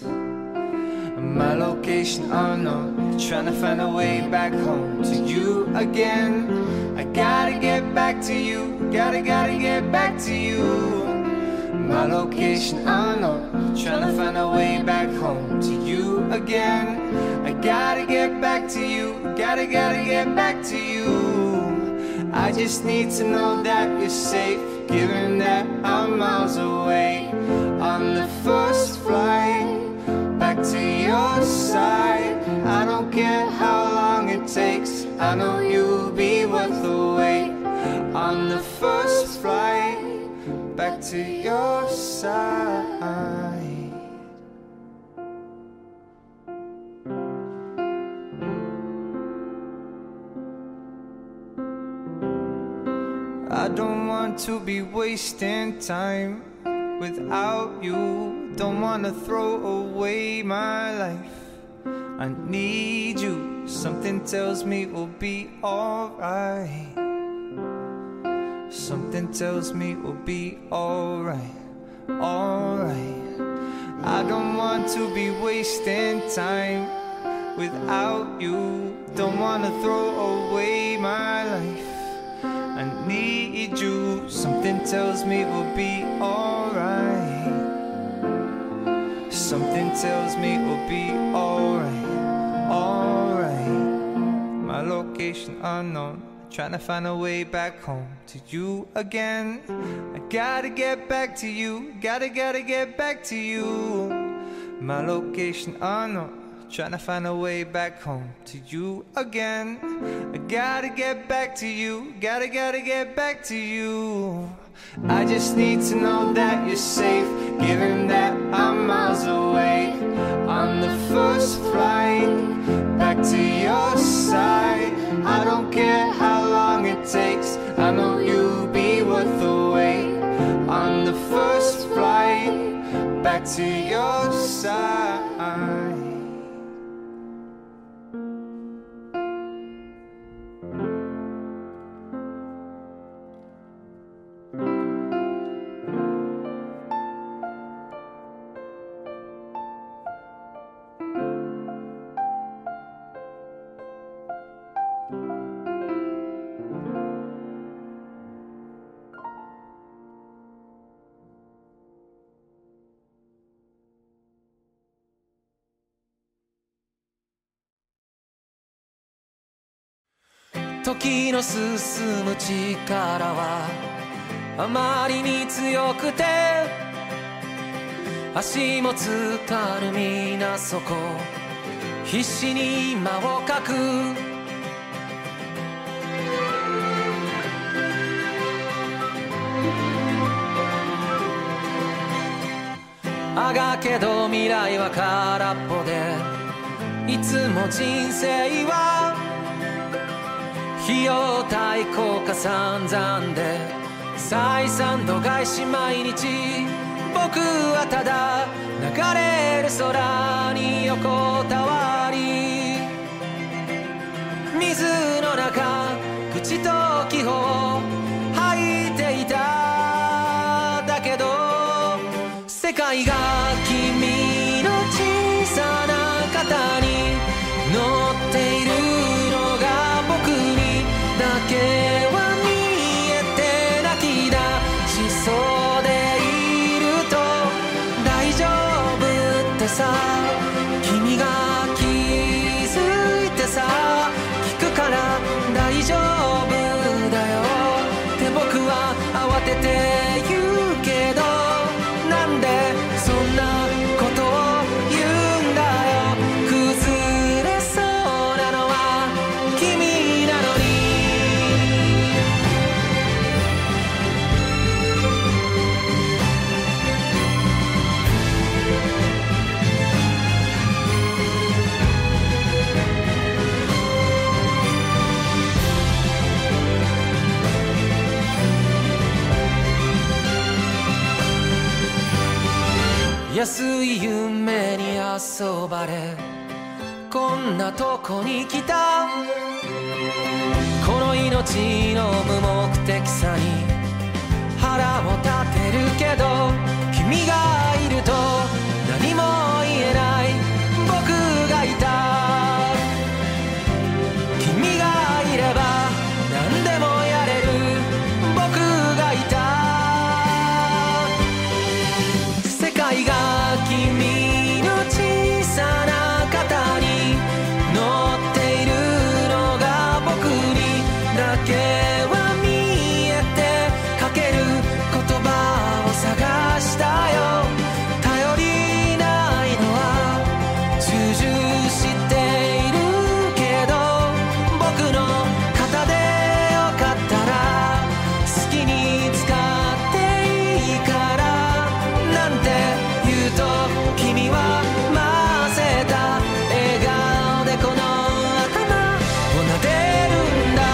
My location unknown, trying to find a way back home to you again. I gotta get back to you, gotta, gotta get back to you. My location unknown, trying to find a way back home to you again. I gotta get back to you, gotta, gotta get back to you. I just need to know that you're safe, given that I'm miles away. On the first flight back to your side. I don't care how long it takes, I know you'll be worth the wait. On the first flight back to your side. I don't want to be wasting time without you. Don't wanna throw away my life. I need you, something tells me we'll be alright. Something tells me we'll be alright, alright. I don't want to be wasting time without you. Don't wanna throw away my life. I need you, something tells me we'll be alright. Something tells me we'll be alright, alright. My location unknown, trying to find a way back home to you again. I gotta get back to you, gotta, gotta get back to you. My location unknown, trying to find a way back home to you again. I gotta get back to you, gotta, gotta get back to you. I just need to know that you're safe, given that I'm miles away. On the first flight back to your side. I don't care how long it takes, I know you'll be worth the wait. On the first flight back to your side. 時の進む力はあまりに強くて足もつかぬ皆そこ必死に間をかくあがけど未来は空っぽでいつも人生は費用対効果散々で採算度外視毎日僕はただ流れる空に横たわり君が気づいてさ聞くから大丈夫だよって僕は慌てて言うけどなんでそんなことを言うんだよ崩れそうなのは君なのに安い夢に遊ばれこんなとこに来たこの命の無目的さに腹を立てるけど君がいると何も言えない僕がいた君がいれば何でもやれる僕がいた世界が君の小さな肩に乗っているのが僕にだけは見えてかける言葉を探したよ頼りないのは重々知っているけど僕の肩でよかったら好きに使っていいからなんて言うと君は混ぜた笑顔でこの頭を撫でるんだ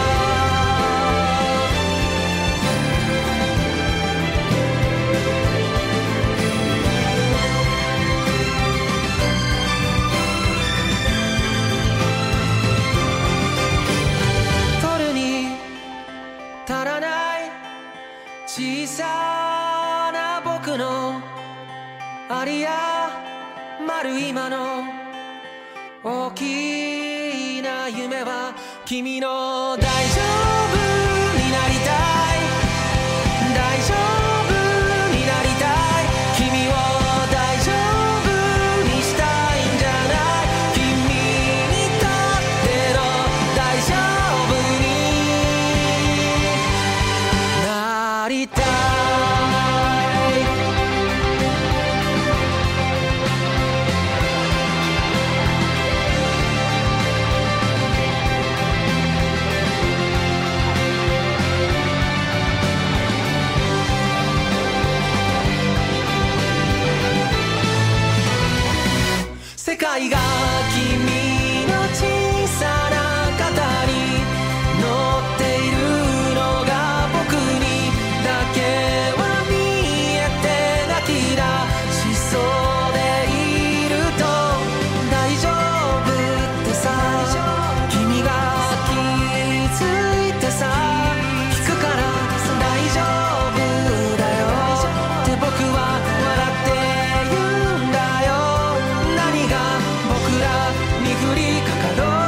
取るに足らない小さな僕のありやまる今の大きな夢は君の大丈夫になりたい大丈夫になりたい君を大丈夫にしたいんじゃない君にとっての大丈夫になりたい世界が君の小さな肩に乗っているのが僕にだけは見えて泣き出しそうでいると大丈夫ってさ君が気づいてさ聞くから大丈夫だよって僕は笑って言うんだよ何が僕らに降りかかろう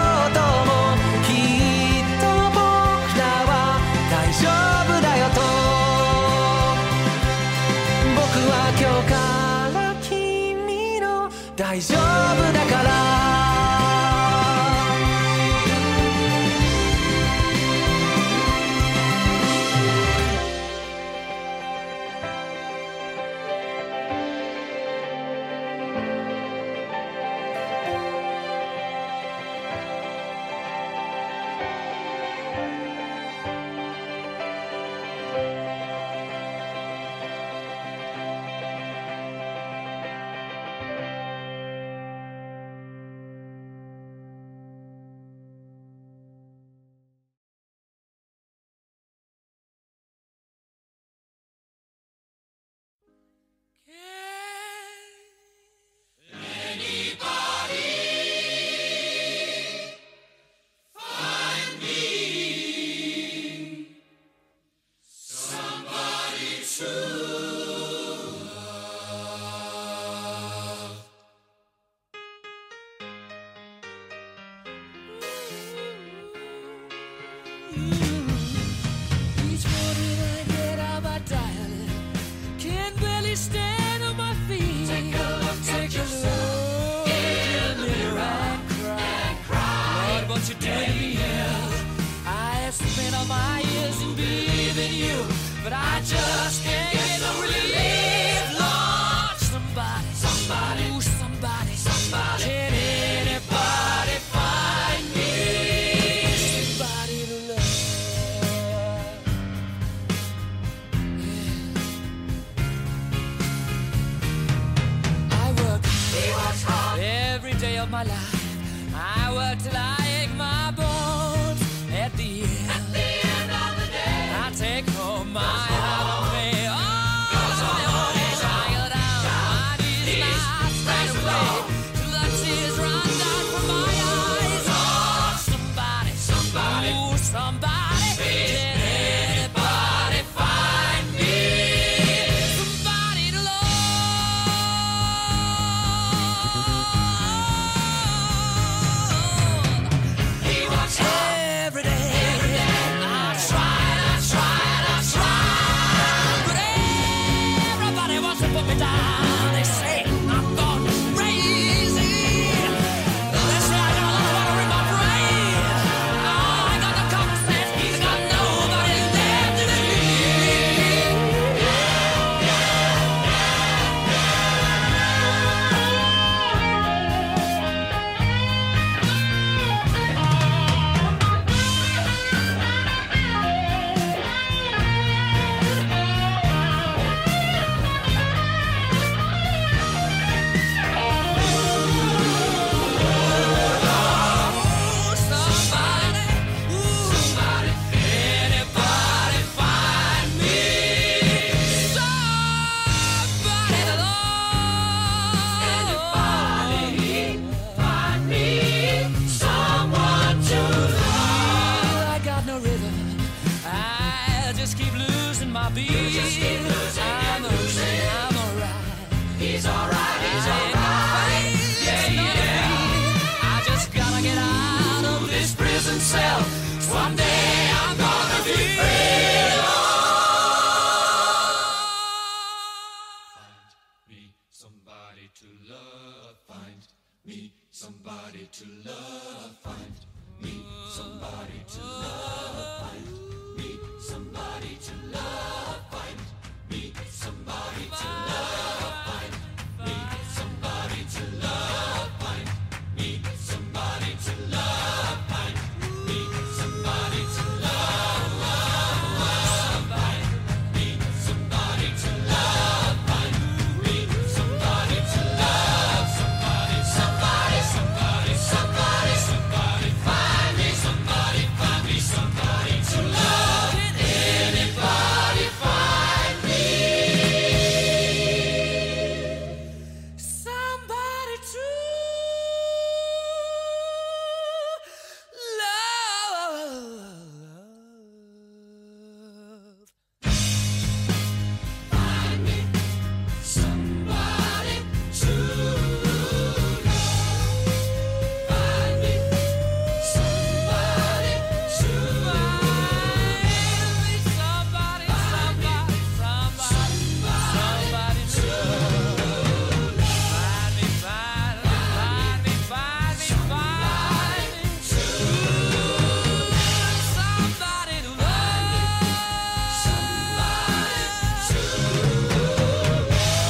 of my life. I work till I ache my bones. At the end, At the end of the day, I take home my heart of me. Oh, goes on, goes on, tired out. My knees right away till the tears run down from my eyes. Oh, somebody, somebody, ooh, somebody, did anybody find me? Somebody to love. He wants every day. Every day. I tried, I tried, I tried, but everybody wants to put me down. They say I'm gone crazy. They say I got a lot of water in my brain. Oh, I got no common sense. I got nobody there to believe. Somebody, ooh, somebody, anybody find me? Somebody to love. Anybody find me? Someone to love. I got no rhythm. I just keep losing my beat. You just keep losing. I'm losing. I'm alright. He's alright. He's alright. Yeah, yeah. I just gotta get out of this prison cell. Someday I'm gonna be free. Find me somebody to love. Find me somebody to love. Find me somebody to love. Find me somebody to love. Find me somebody to love. Find me somebody to love. Find me somebody to love. Find me somebody to love. Find me somebody to love. Find me somebody to love. Somebody, somebody, somebody, somebody, somebody. Find me somebody. Find me somebody to love. Can anybody find me? Somebody to love. Find me somebody to love. Find me somebody to love. Somebody, somebody, somebody, somebody to love. Find me, find me, find me, find me, find me to love. Somebody to love. Somebody to love.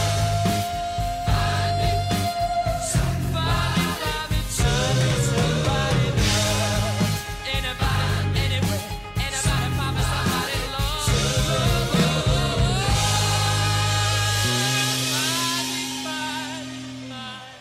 Find me somebody, find me somebody, somebody to love. Anybody, anywhere, anybody, find me somebody to love. Find me, find me, find me.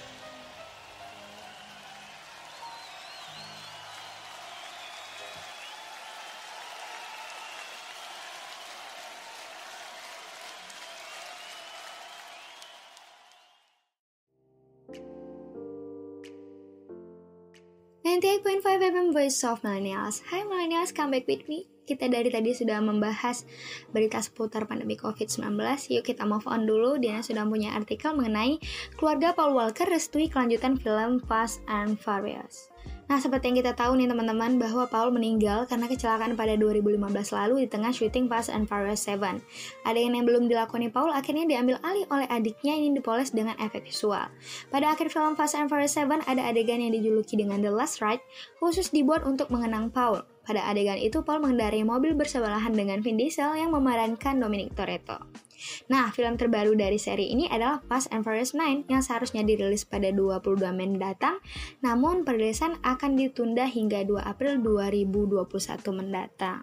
ninety-eight point five F M Voice of Millennials. Hai Millennials, come back with me. Kita dari tadi sudah membahas berita seputar pandemi covid sembilan belas. Yuk kita move on dulu. Diana sudah punya artikel mengenai keluarga Paul Walker restui kelanjutan film Fast and Furious. Nah, seperti yang kita tahu nih teman-teman, bahwa Paul meninggal karena kecelakaan pada dua ribu lima belas lalu di tengah syuting Fast and Furious tujuh. Adegan yang belum dilakoni Paul akhirnya diambil alih oleh adiknya yang dipoles dengan efek visual. Pada akhir film Fast and Furious tujuh ada adegan yang dijuluki dengan The Last Ride, khusus dibuat untuk mengenang Paul. Pada adegan itu, Paul mengendarai mobil bersebelahan dengan Vin Diesel yang memerankan Dominic Toretto. Nah, film terbaru dari seri ini adalah Fast and Furious sembilan yang seharusnya dirilis pada dua puluh dua Mei mendatang, namun perilisan akan ditunda hingga dua April dua ribu dua puluh satu mendatang.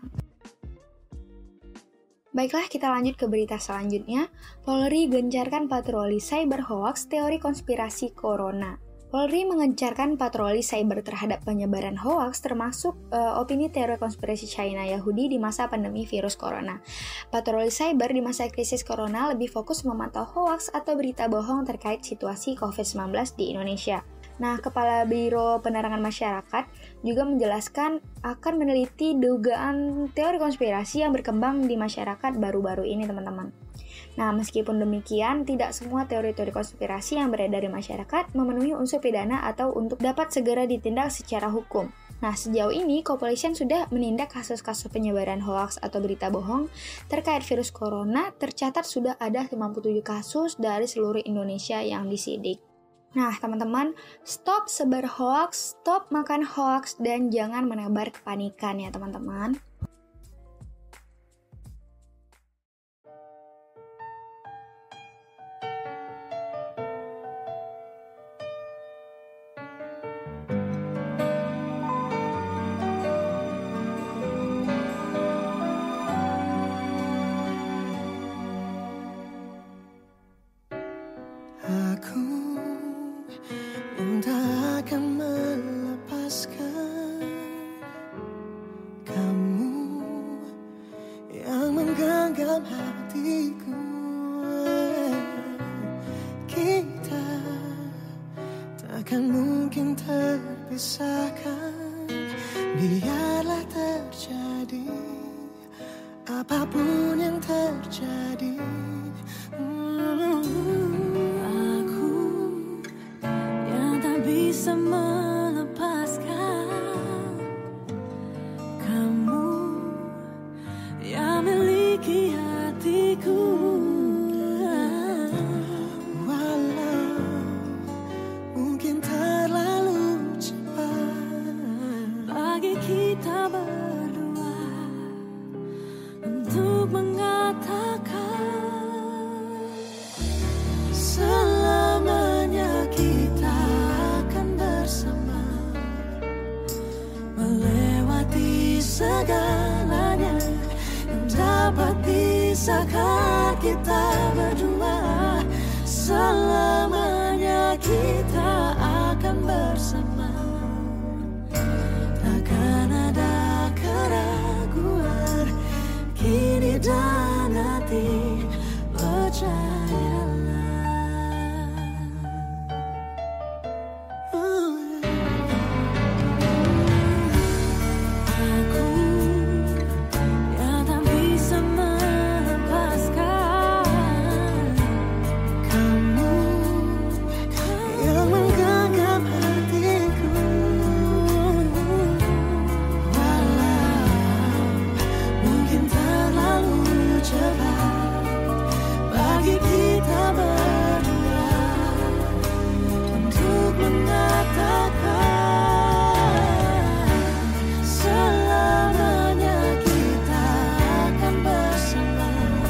Baiklah, kita lanjut ke berita selanjutnya. Polri gencarkan patroli cyber hoax teori konspirasi corona. Polri mengencarkan patroli cyber terhadap penyebaran hoaks termasuk uh, opini teori konspirasi China Yahudi di masa pandemi virus corona. Patroli cyber di masa krisis corona lebih fokus memantau hoaks atau berita bohong terkait situasi covid sembilan belas di Indonesia. Nah, Kepala Biro Penerangan Masyarakat juga menjelaskan akan meneliti dugaan teori konspirasi yang berkembang di masyarakat baru-baru ini, teman-teman. Nah, meskipun demikian, tidak semua teori-teori konspirasi yang beredar di masyarakat memenuhi unsur pidana atau untuk dapat segera ditindak secara hukum. Nah, sejauh ini, kepolisian sudah menindak kasus-kasus penyebaran hoaks atau berita bohong terkait virus corona. Tercatat sudah ada lima puluh tujuh kasus dari seluruh Indonesia yang disidik. Nah, teman-teman, stop sebar hoaks, stop makan hoaks, dan jangan menebar kepanikan ya, teman-teman. Biarlah terjadi apapun yang terjadi. hmm. Aku yang tak bisa melepaskan kamu yang miliki hatiku. Walau mungkin terlalu cepat bagi kita berdua untuk mengatakan selamanya kita akan bersama, melewati segalanya yang dapat pisahkan kita berdua. Selamanya kita akan bersama, takkan ada keraguan kini dan nanti, percayalah. Aku yang tak bisa melepaskan kamu yang menggenggam hatiku. Walau mungkin terlalu cepat bagi kita berdua untuk mengatakan selamanya kita akan bersama,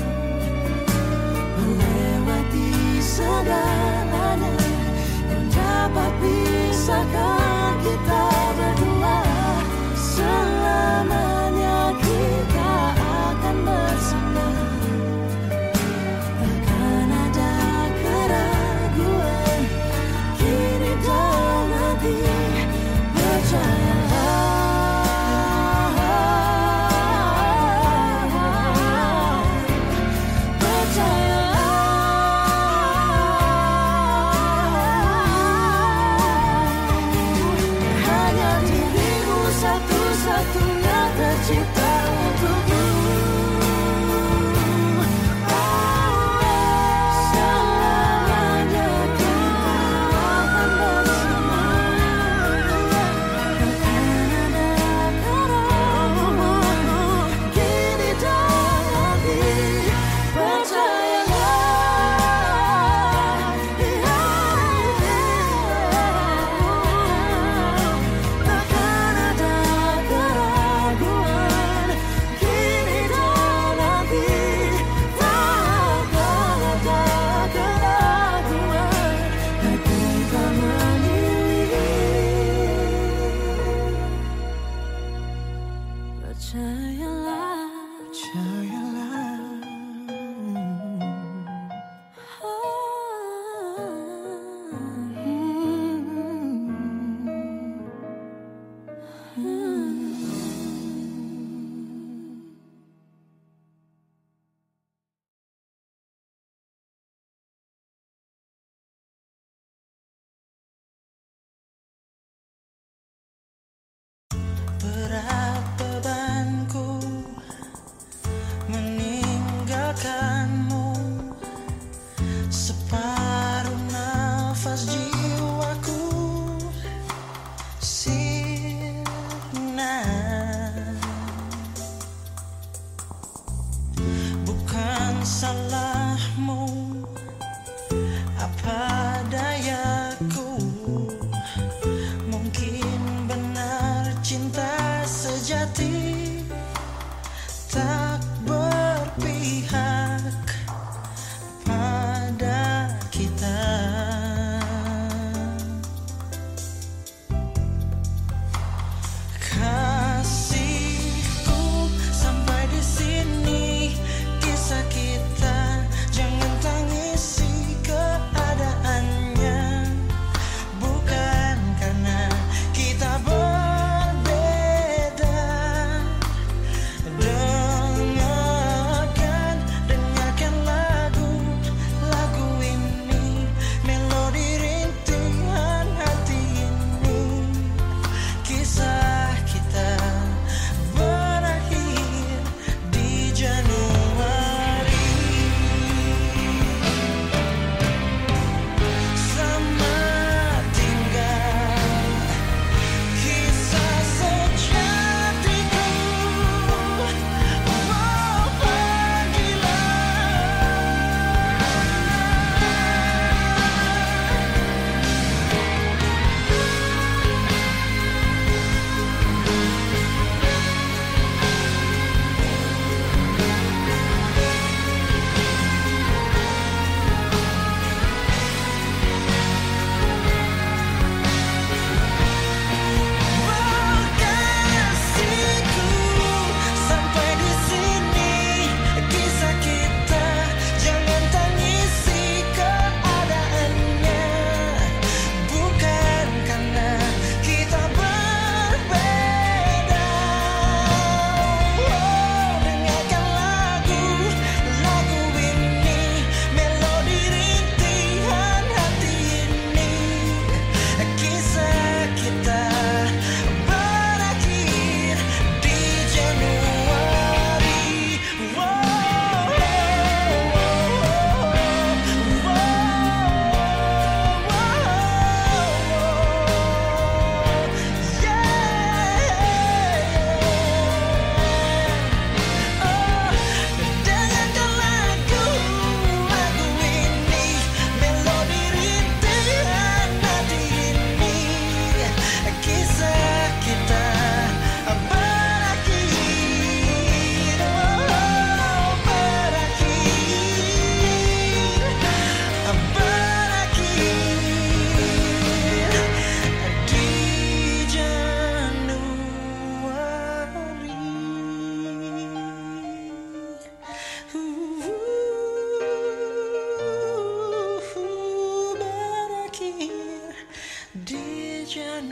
melewati segalanya yang dapat pisahkan kita berdua. Selamanya kita akan bersama, takkan ada keraguan kini dan nanti, percayalah. Hanya dirimu satu-satunya tercipta untukku. Selamanya kita akan bersama, takkan ada keraguan kini dan nanti, percayalah. Takkan ada keraguan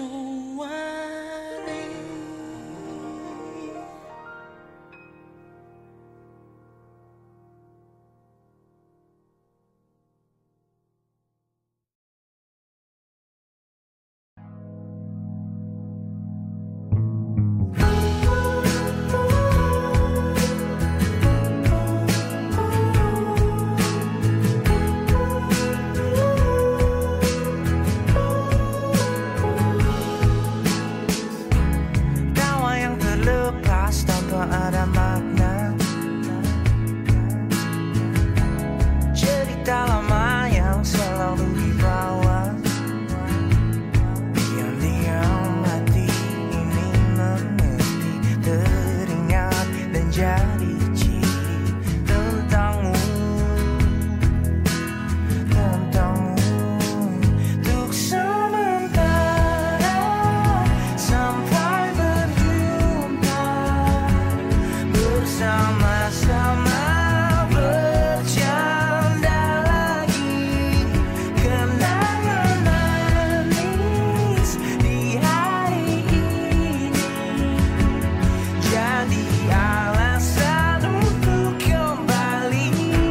Januari. Ada makna cerita lama yang selalu dibawa. Diam-diam hati ini mengerti, teringat dan jadi ciri tentangmu, tentangmu. Untuk sementara sampai berjumpa, bersama-sama bercanda lagi, kenangan manis di hari ini jadi alasan untuk kembali.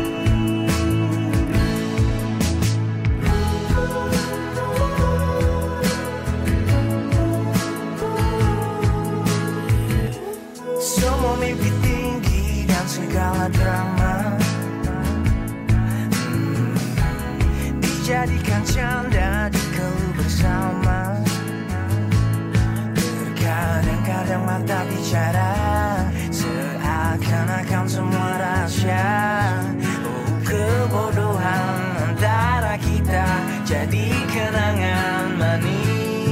Semua mimpi tinggi dan segala drama hmm, dijadikan canda di keluh bersama. Terkadang-kadang mata bicara seakan-akan semua rahasia. Oh, kebodohan antara kita jadi kenangan manis.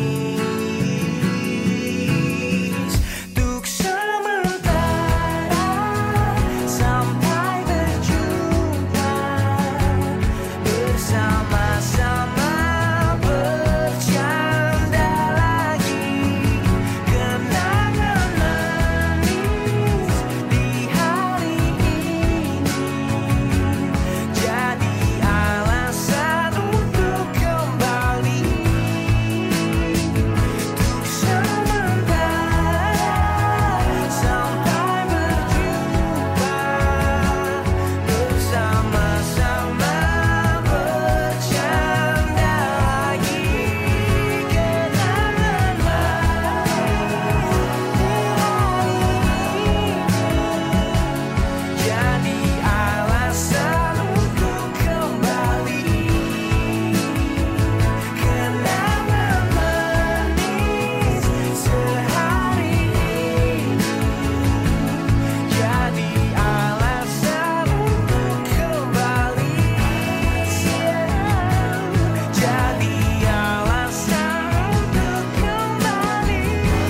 Untuk sementara sampai berjumpa, bersama-sama bercanda lagi, kenangan manis di hari ini jadi alasan untuk kembali. Untuk sementara sampai berjumpa, bersama-sama bercanda lagi, kenangan manis jadi alasan untuk kembali. Kenangan manis sehari ini jadi alasan untuk kembali. Jadi alasan untuk kembali.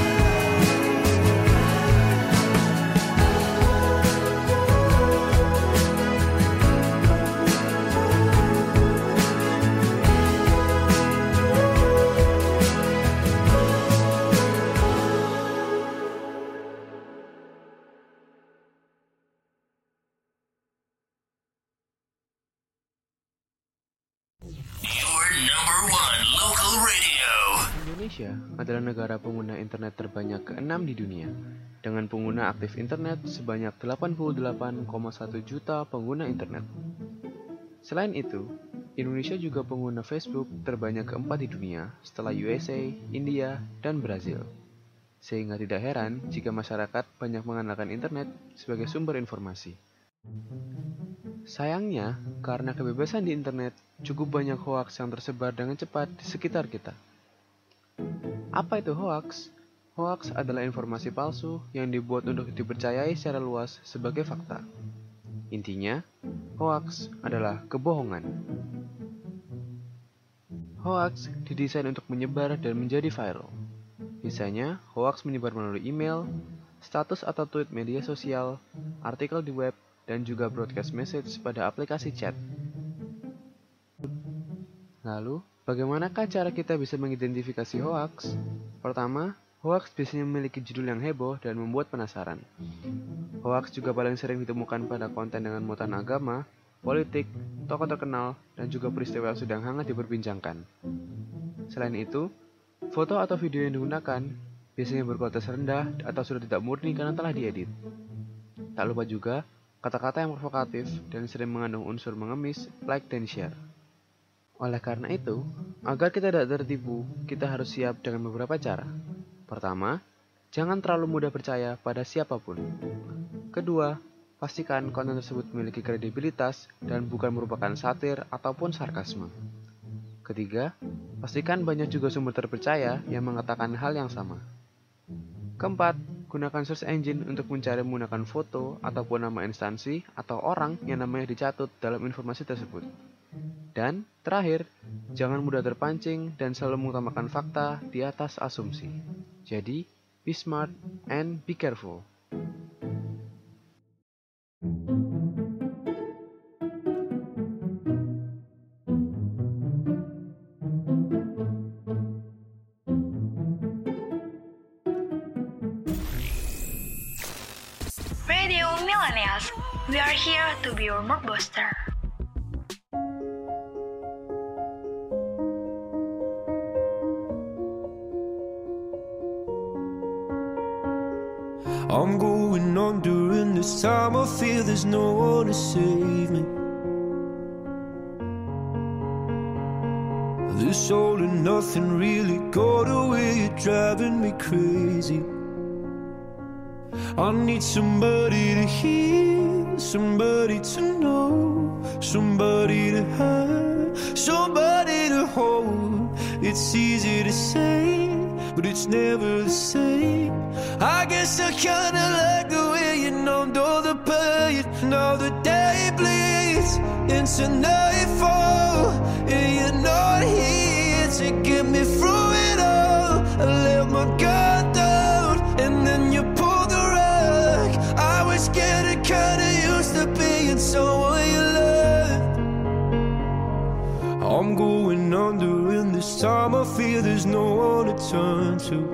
Your number one local radio. Indonesia adalah negara pengguna internet terbanyak keenam di dunia, dengan pengguna aktif internet sebanyak delapan puluh delapan koma satu juta pengguna internet. Selain itu, Indonesia juga pengguna Facebook terbanyak keempat di dunia setelah U S A, India, dan Brazil. Sehingga tidak heran jika masyarakat banyak mengandalkan internet sebagai sumber informasi. Sayangnya, karena kebebasan di internet, cukup banyak hoaks yang tersebar dengan cepat di sekitar kita. Apa itu hoaks? Hoaks adalah informasi palsu yang dibuat untuk dipercayai secara luas sebagai fakta. Intinya, hoaks adalah kebohongan. Hoaks didesain untuk menyebar dan menjadi viral. Misalnya, hoaks menyebar melalui email, status atau tweet media sosial, artikel di web, dan juga broadcast message pada aplikasi chat. Lalu, bagaimanakah cara kita bisa mengidentifikasi hoaks? Pertama, hoaks biasanya memiliki judul yang heboh dan membuat penasaran. Hoaks juga paling sering ditemukan pada konten dengan muatan agama, politik, tokoh terkenal, dan juga peristiwa yang sedang hangat diperbincangkan. Selain itu, Foto atau video yang digunakan biasanya berkualitas rendah atau sudah tidak murni karena telah diedit. Tak lupa juga kata-kata yang provokatif dan sering mengandung unsur mengemis, like dan share. Oleh karena itu, agar kita tidak tertipu, kita harus siap dengan beberapa cara. Pertama, jangan terlalu mudah percaya pada siapapun. Kedua, pastikan konten tersebut memiliki kredibilitas dan bukan merupakan satir ataupun sarkasme. Ketiga, pastikan banyak juga sumber terpercaya yang mengatakan hal yang sama. Keempat, gunakan search engine untuk mencari menggunakan foto ataupun nama instansi atau orang yang namanya dicatut dalam informasi tersebut. Dan terakhir, jangan mudah terpancing dan selalu mengutamakan fakta di atas asumsi. Jadi, be smart and be careful. Radio Millennials, we are here to be your mood booster. I'm going on during this time. I feel there's no one to save me. This all and nothing really got away. You're driving me crazy. I need somebody to hear, somebody to know, somebody to have, somebody to hold. It's easy to say, but it's never the same. I guess I kinda like the way you numbed all the pain. Now the day bleeds into nightfall, and you're not here to get me through it all. I let my guard down, and then you pulled the rug. I was getting kinda used to being someone you loved. I'm going under, and this time I feel there's no one to turn to.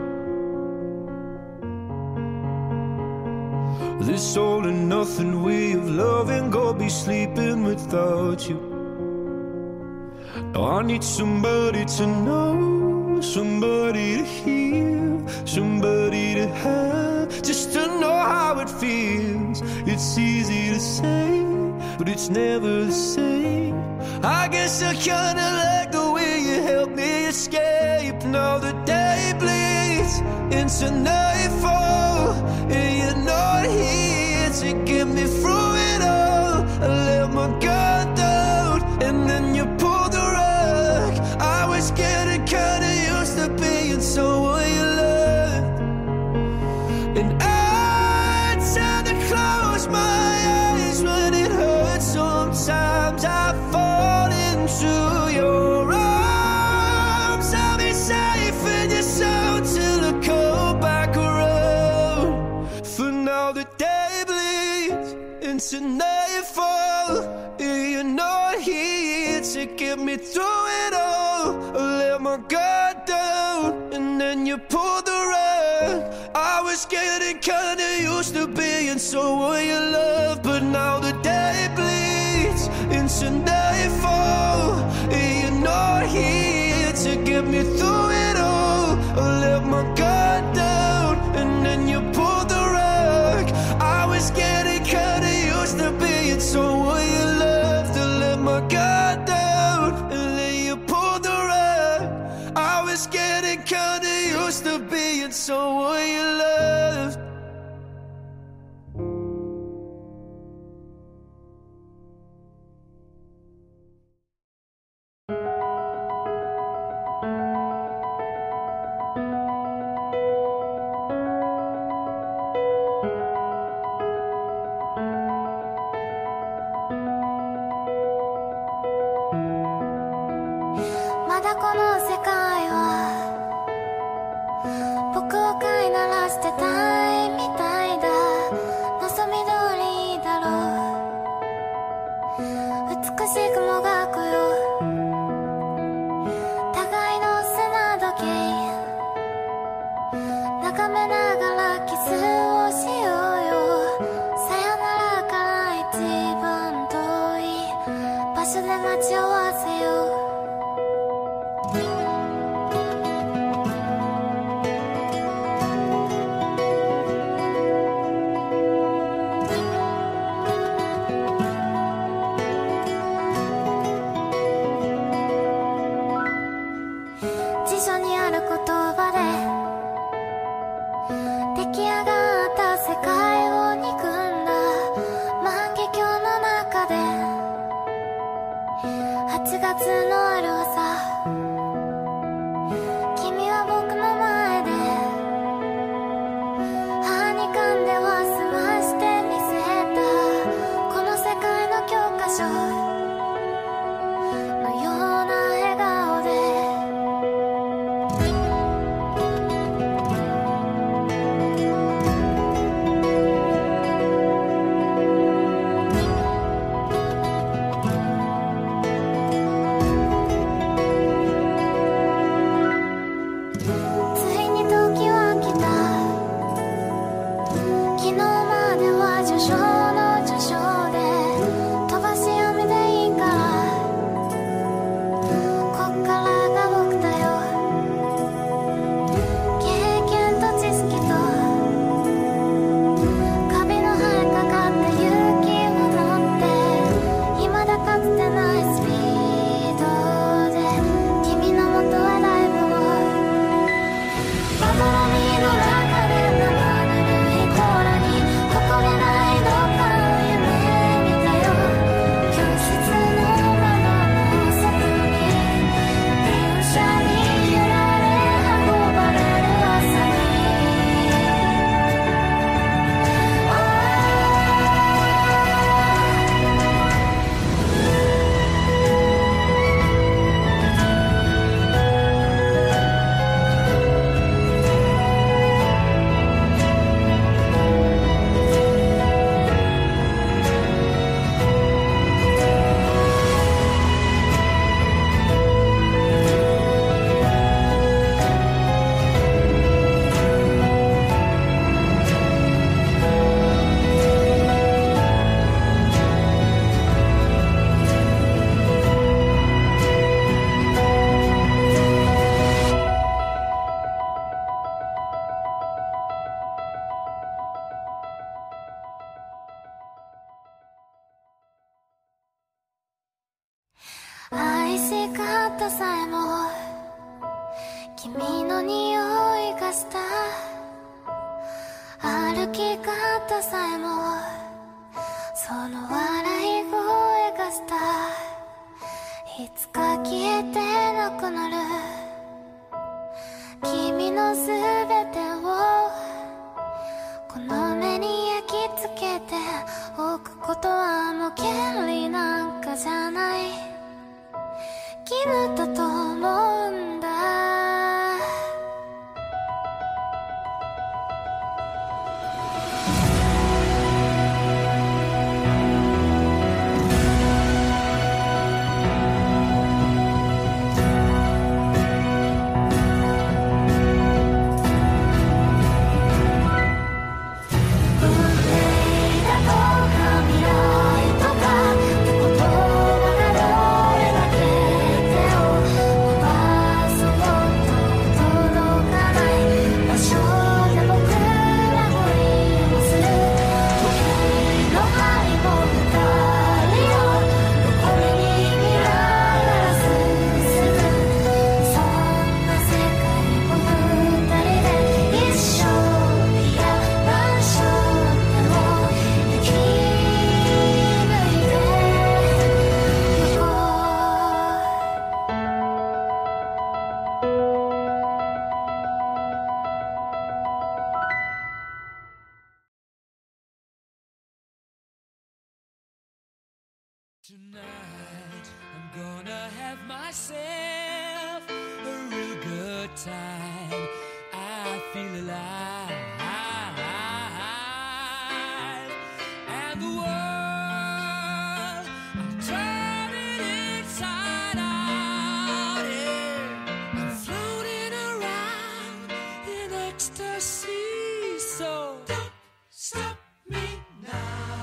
This all and nothing way of loving, go be sleeping without you. Now I need somebody to know, somebody to hear, somebody to have, just to know how it feels. It's easy to say, but it's never the same. I guess I kinda like the way you help me escape. Now the day bleeds into nightfall, and you're not here to get me through it all. I let my guard down, and then you pulled the rug. I was getting kinda used to being someone you loved, and I tend to close my eyes when it hurts. Sometimes I fall into your arms. I'll be safe in your soul till I come back around. For now the day bleeds into nightfall, and you're not here to get me through it all. I let my guard down, and then you pulled the rug. I was getting kinda used to being someone you love, but now the day bleeds into nightfall, and you're not here to get me through it all. I let my guard down, and then you pulled the rug. I was getting kinda used to being someone you loved. To let my guard down, and then you pulled the rug. I was getting kinda used to being someone you loved. き上がった世界を憎んだ万華鏡の中ではちがつのある朝、君は僕の前で歯に噛んでは済ましてみせたこの世界の教科書のような笑顔で愛し方さえも君の匂いがした歩き方さえもその笑い声がしたいつか消えてなくなる君のすべてをこの目に焼き付けておくことはもう権利なんかじゃない義務だと思うんだ Tonight, I'm gonna have myself a real good time. I feel alive, and the world, I'll turn it inside out. Yeah. I'm floating around in ecstasy, so don't stop me now.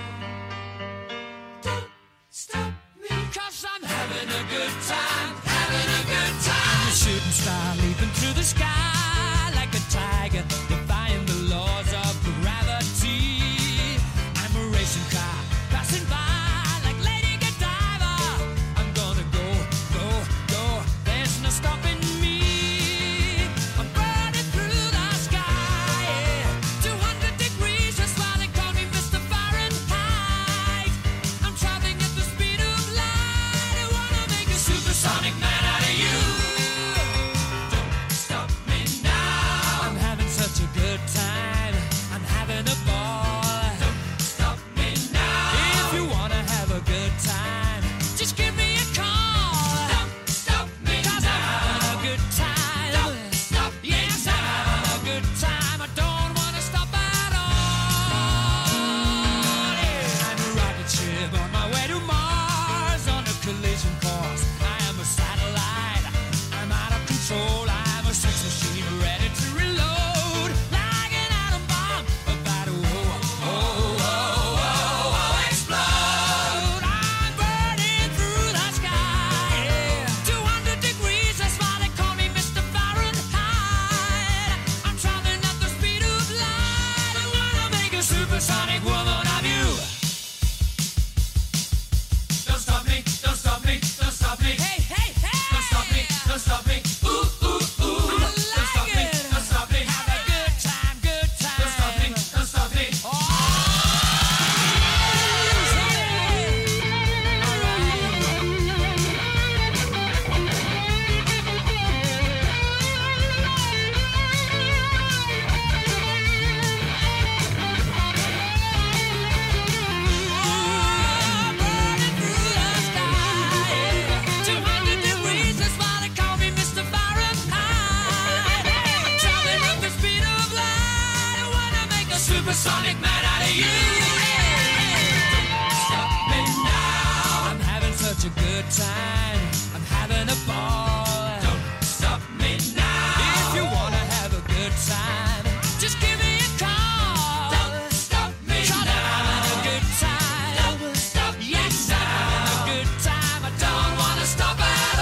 Stop me, cause I'm having a good time, having a good time. I'm a shooting star leaping through the sky like a tiger, defying the laws of gravity. I'm a racing car passing by like Lady Godiva. I'm gonna go, go, go, there's no stopping me. I'm burning through the sky, yeah. good time. I'm having a ball. Don't stop me now. If you wanna have a good time, just give me a call. Don't stop me 'cause now. I'm having a good time. Don't stop me yes, now. I'm having a good time. I don't wanna stop at all. Yeah. I'm a rocket ship on my way to Mars on a collision course. I am a satellite. I'm out of control. I'm a sex machine ready to reload. Like an atom bomb about to oh, oh, oh, oh, oh, explode. I'm burning through the sky. Yeah. two hundred degrees, that's why they call me Mister Fahrenheit. I'm traveling at the speed of light. I wanna make a supersonic woman of you. Don't stop me, don't stop me, don't stop me. Hey, hey, hey! Don't stop me, don't stop me. Ooh, ooh, ooh. I like don't stop me, it. Don't stop me. Have a good time, good time. Don't stop me, don't stop me. Oh, burning through the sky. two hundred degrees, that's why they call me Mister Fahrenheit. I'm traveling at the speed of light. I wanna make a supersonic man out of you. Don't stop me now. I'm having such a good time. I'm having a ball. Don't stop me now. If you wanna have a good time, just give me a call. Don't stop me 'cause now. I'm having a good time. Don't stop yes, I'm having a good time. I don't wanna stop at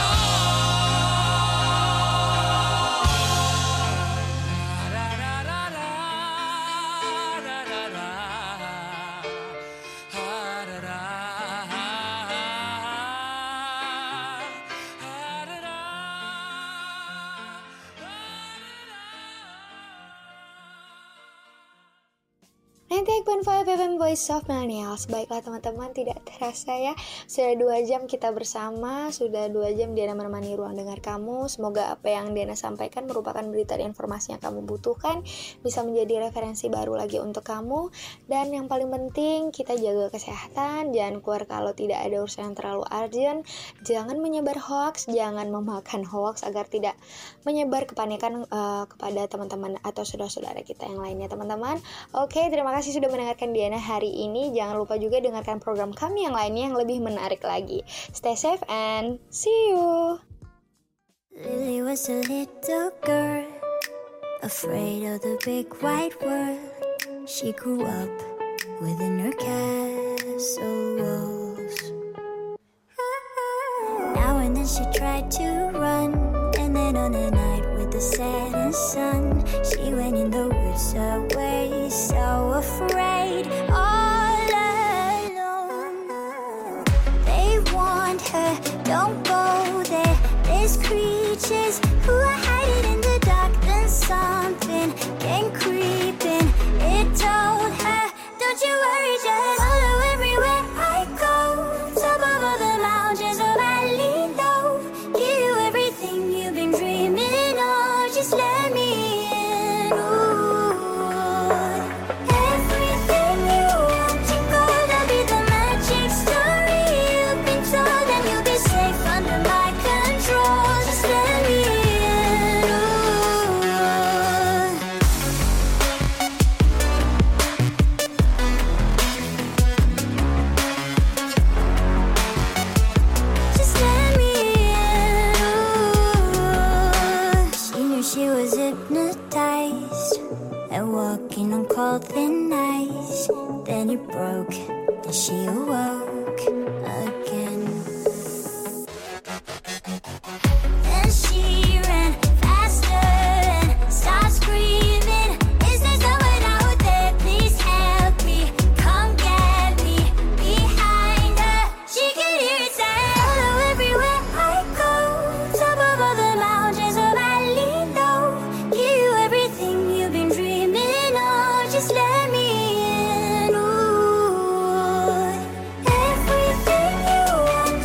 ninety-eight point five F M Voice of Millennials. Baiklah teman-teman, tidak terasa ya, sudah dua jam kita bersama. Sudah dua jam Diana menemani ruang dengar kamu. Semoga apa yang Diana sampaikan merupakan berita dan informasi yang kamu butuhkan, bisa menjadi referensi baru lagi untuk kamu. Dan yang paling penting, kita jaga kesehatan. Jangan keluar kalau tidak ada urusan yang terlalu urgent. Jangan menyebar hoax, jangan memakan hoax agar tidak menyebar kepanikan uh, kepada teman-teman atau saudara-saudara kita yang lainnya teman-teman. Oke, terima kasih sudah mendengarkan Diana hari ini. Jangan lupa juga dengarkan program kami yang lainnya yang lebih menarik lagi. Stay safe and see you. Lily was a little girl, afraid of the big wide world. She grew up within her castle walls. Now and then she tried to run, and then on a night with the setting sun, she went in the woods away, so afraid, all alone. They warned her, don't go there, there's creatures who are hiding in the dark. Then something came creeping, it told her, don't you worry, just follow everywhere I go. Top of all the mountains, a valley low, give you everything you've been dreaming of. Just let me in. Ooh. Everything you want to go, that'll be the magic story you've been told, and you'll be safe under my control. Just let me in. Ooh. Just let me in. Ooh. She knew she was hypnotized and walking on cold thin ice. Then it broke and she awoke again. Then she ran faster and started screaming, is there someone out there? Please help me, come get me. Behind her, she could hear it say, follow everywhere I go. Top of all the mountains, a valley low, give you everything you've been dreaming of. Just let me in. Ooh. Everything you want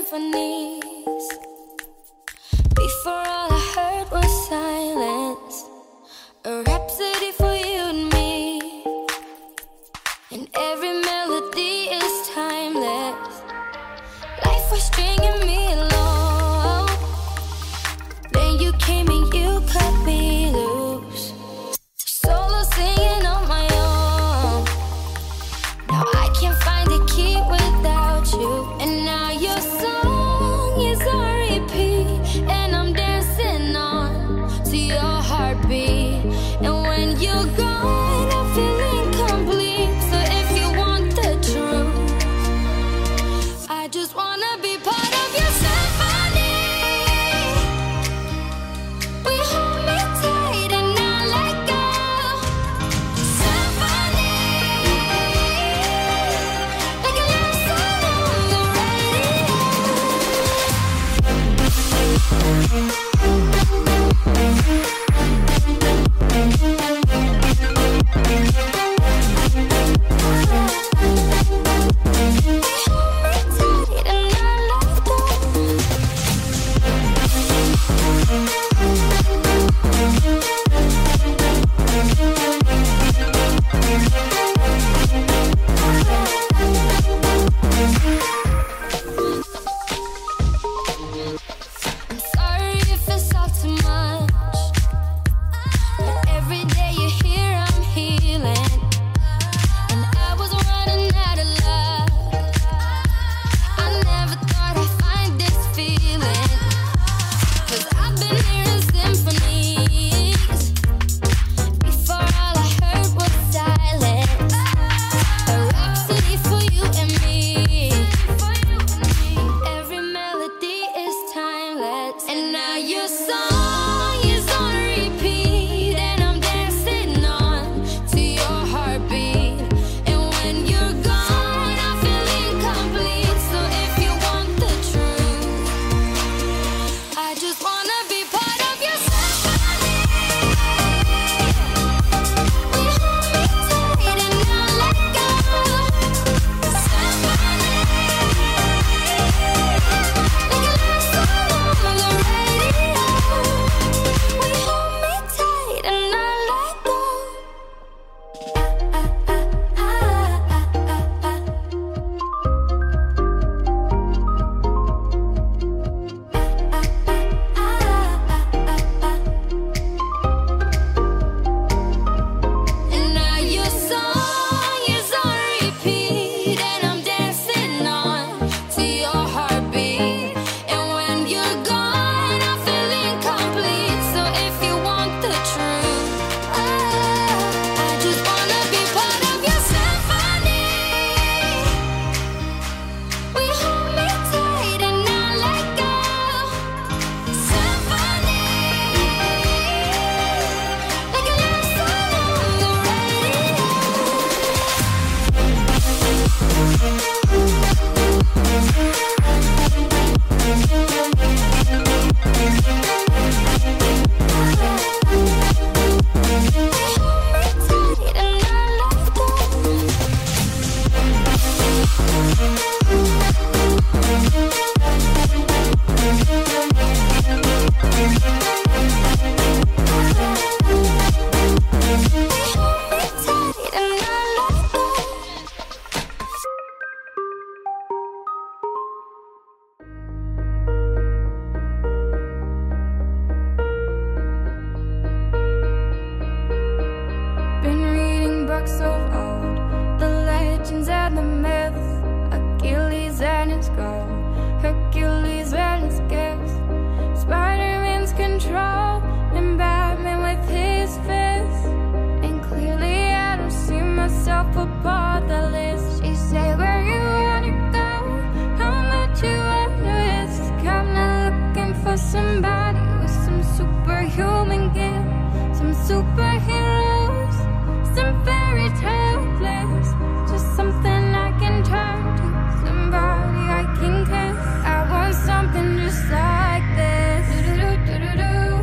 symphonies. Before all I heard was silence, a rhapsody for you and me. And every melody is timeless. Life was stringing me along. Then you came and you cut me loose. Solo singing on my own. Now I can't find a key without you. And now your song is on repeat, and I'm dancing on to your heartbeat. And when you're gone, I feel incomplete. So if you want the truth, I just wanna be part of your symphony. We hold me tight and not let go. Symphony, like a love song on the radio. I'm sorry if it's all too much, but every day you're here, I'm healing. And I was running out of love. I never thought I'd find this feeling. Cause I've been hearing symphonies. Before all I heard was silence. A rhapsody for you and me. Every melody is timeless. And now your song is on repeat, and I'm dancing on to your heartbeat. And when you're gone, I feel incomplete. So if you want the truth, I just wanna be part of your symphony. We hold me tight and not let go. Symphony, like a love song on the radio. We hold me tight and not let go. And now your song is on repeat, and I'm dancing on to your heartbeat. And when you're gone, I feel incomplete. So if you want the truth, I just wanna be part of your symphony. We hold me tight and not let go. Symphony, like a love song on the radio. Tight and not let go. Tight and not let go. Been reading books of old, the legends and the myths, Achilles and his gold, Hercules and his gifts, Spider-Man's control, and Batman with his fists. And clearly I don't see myself above the list. She said, where you wanna go? How much you wanna risk? I'm not looking for somebody with some superhuman gift, some superheroes, some fairy tale bliss. Just something I can turn to, somebody I can kiss. I want something just like this. Do-do-do-do-do-do.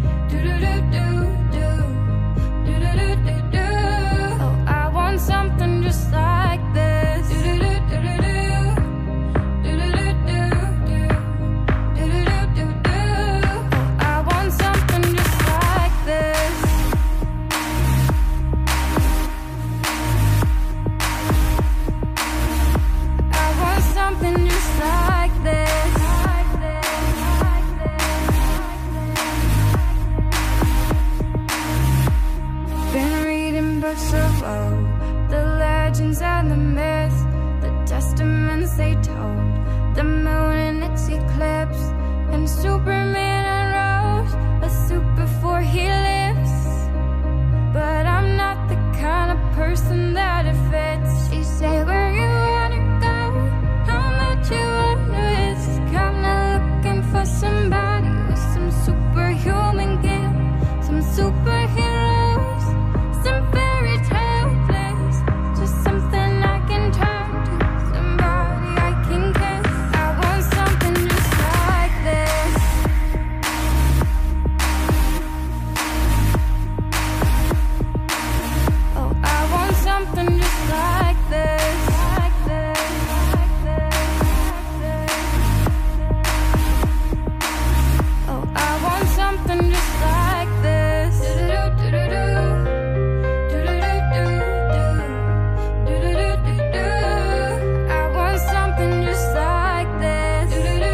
Do-do-do-do-do. Do-do-do-do-do. Oh, I want something legends and the myths, the testaments they told, the moon in its eclipse, and Superman unrose a suit before he lives. But I'm not the kind of person that it fits. She say, where you wanna go, how much you wanna risk. I'm not looking for somebody with some superhuman gift, some superheroes, some fairy tale bliss, just something I can turn to, somebody I can kiss. I want something just like this. Oh, I want something just like this, like this, like this, like this. Oh, I want something just like this. Do-do-do-do-do. I want something just like this.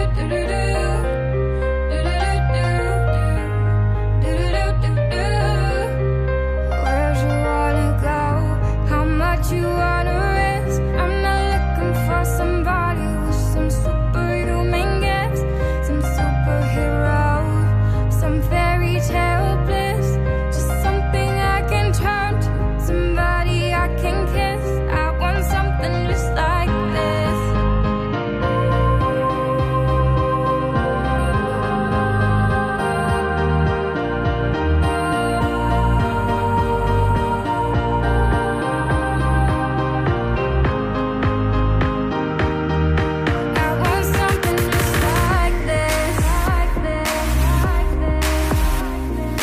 Where'd you wanna go? How much you wanna risk? I'm not looking for somebody with some superhuman gifts, some superhero, some fairy tale bliss, just something I can turn to, somebody I can kiss. I want something just like this. I want something just like this, like this, like this, like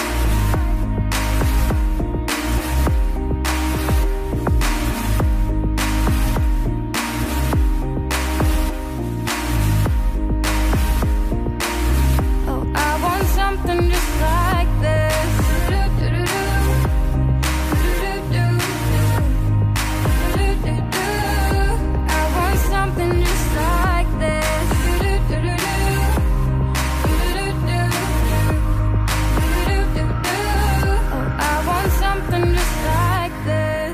this. Oh, I want something just like this. I want something just like this. Oh, I want something just like this.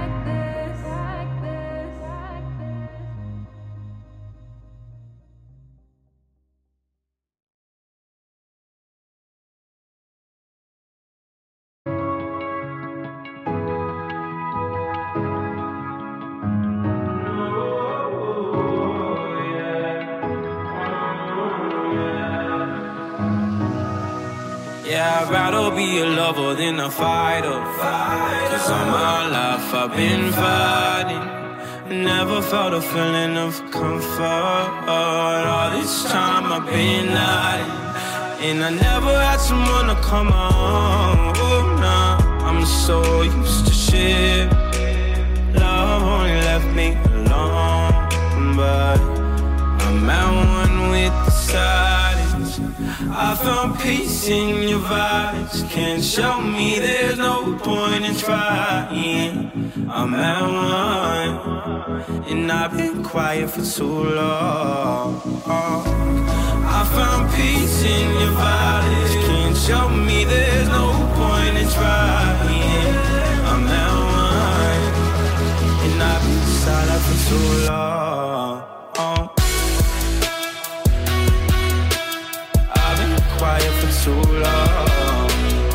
Yeah, I'd rather be a lover than a fighter. Cause all my life I've been fighting. Never felt a feeling of comfort. All this time I've been hiding, and I never had someone to come on. Oh, nah, I'm so used to shit. Love only left me alone, but I'm at one with the silence. I found peace in your vibes. Can't show me there's no point in trying. I'm at one, and I've been quiet for too long. I found peace in your vibes. Can't show me there's no point in trying. I'm at one, and I've been silent for too long. I've been quiet for too long.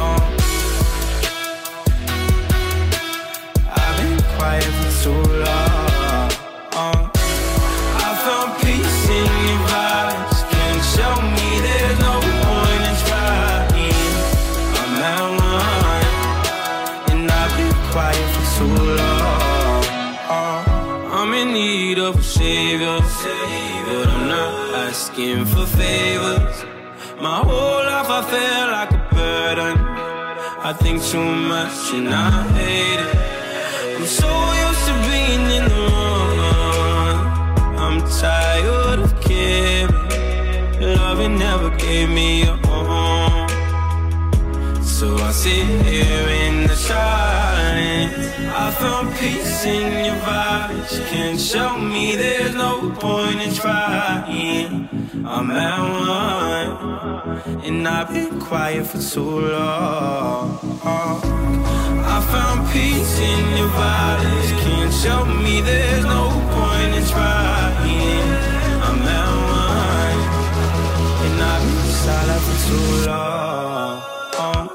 I've been quiet for too long. I found peace in your vibes. Can't show me there's no point in trying. I'm at one, and I've been quiet for too long. I'm in need of a savior, but I'm not asking for favors. My whole life I feel like a burden. I think too much and I hate it. I'm so used to being in the wrong. I'm tired of caring. Loving never gave me a home. So I sit here in the silence. I found peace in your vibes. Can't show me there's no point in trying. I'm at one, and I've been quiet for too long. I found peace in your vibes. Can't show me there's no point in trying. I'm at one, and I've been silent for too long. Oh.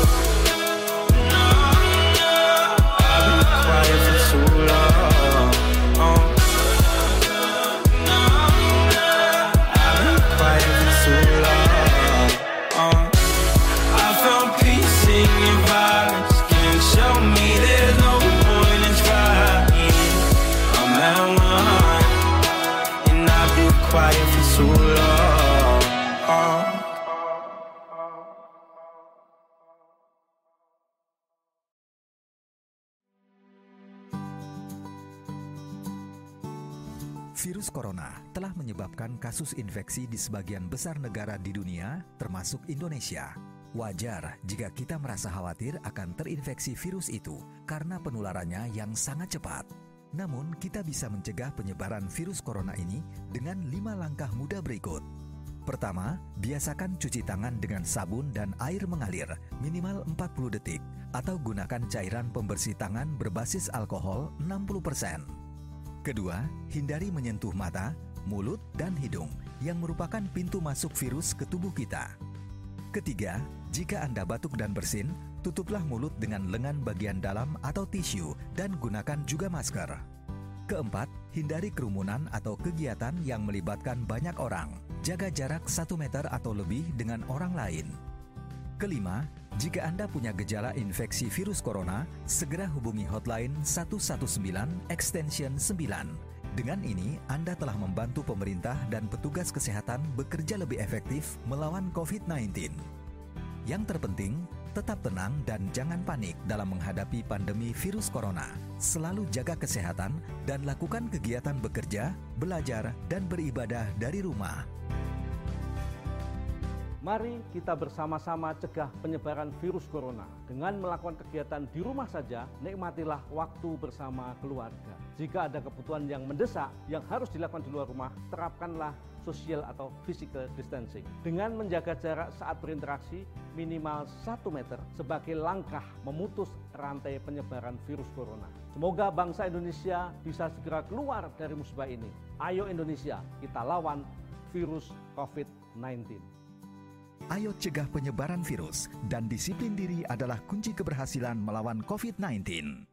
I've been quiet for too long. Oh. I've been quiet for too long. Oh. I found peace in your violence. Can't show me there's no point in trying. I'm at one, and I've been quiet for too long. Oh. Virus corona telah menyebabkan kasus infeksi di sebagian besar negara di dunia, termasuk Indonesia. Wajar jika kita merasa khawatir akan terinfeksi virus itu karena penularannya yang sangat cepat. Namun, kita bisa mencegah penyebaran virus corona ini dengan lima langkah mudah berikut. Pertama, biasakan cuci tangan dengan sabun dan air mengalir minimal empat puluh detik atau gunakan cairan pembersih tangan berbasis alkohol enam puluh persen. Kedua, hindari menyentuh mata, mulut, dan hidung yang merupakan pintu masuk virus ke tubuh kita. Ketiga, jika Anda batuk dan bersin, tutuplah mulut dengan lengan bagian dalam atau tisu dan gunakan juga masker. Keempat, hindari kerumunan atau kegiatan yang melibatkan banyak orang. Jaga jarak satu meter atau lebih dengan orang lain. Kelima, jika Anda punya gejala infeksi virus corona, segera hubungi hotline satu satu sembilan extension sembilan. Dengan ini, Anda telah membantu pemerintah dan petugas kesehatan bekerja lebih efektif melawan covid sembilan belas. Yang terpenting, tetap tenang dan jangan panik dalam menghadapi pandemi virus corona. Selalu jaga kesehatan dan lakukan kegiatan bekerja, belajar, dan beribadah dari rumah. Mari kita bersama-sama cegah penyebaran virus corona. Dengan melakukan kegiatan di rumah saja, nikmatilah waktu bersama keluarga. Jika ada kebutuhan yang mendesak yang harus dilakukan di luar rumah, terapkanlah social atau physical distancing. Dengan menjaga jarak saat berinteraksi minimal satu meter sebagai langkah memutus rantai penyebaran virus corona. Semoga bangsa Indonesia bisa segera keluar dari musibah ini. Ayo Indonesia, kita lawan virus covid sembilan belas. Ayo cegah penyebaran virus dan disiplin diri adalah kunci keberhasilan melawan covid sembilan belas.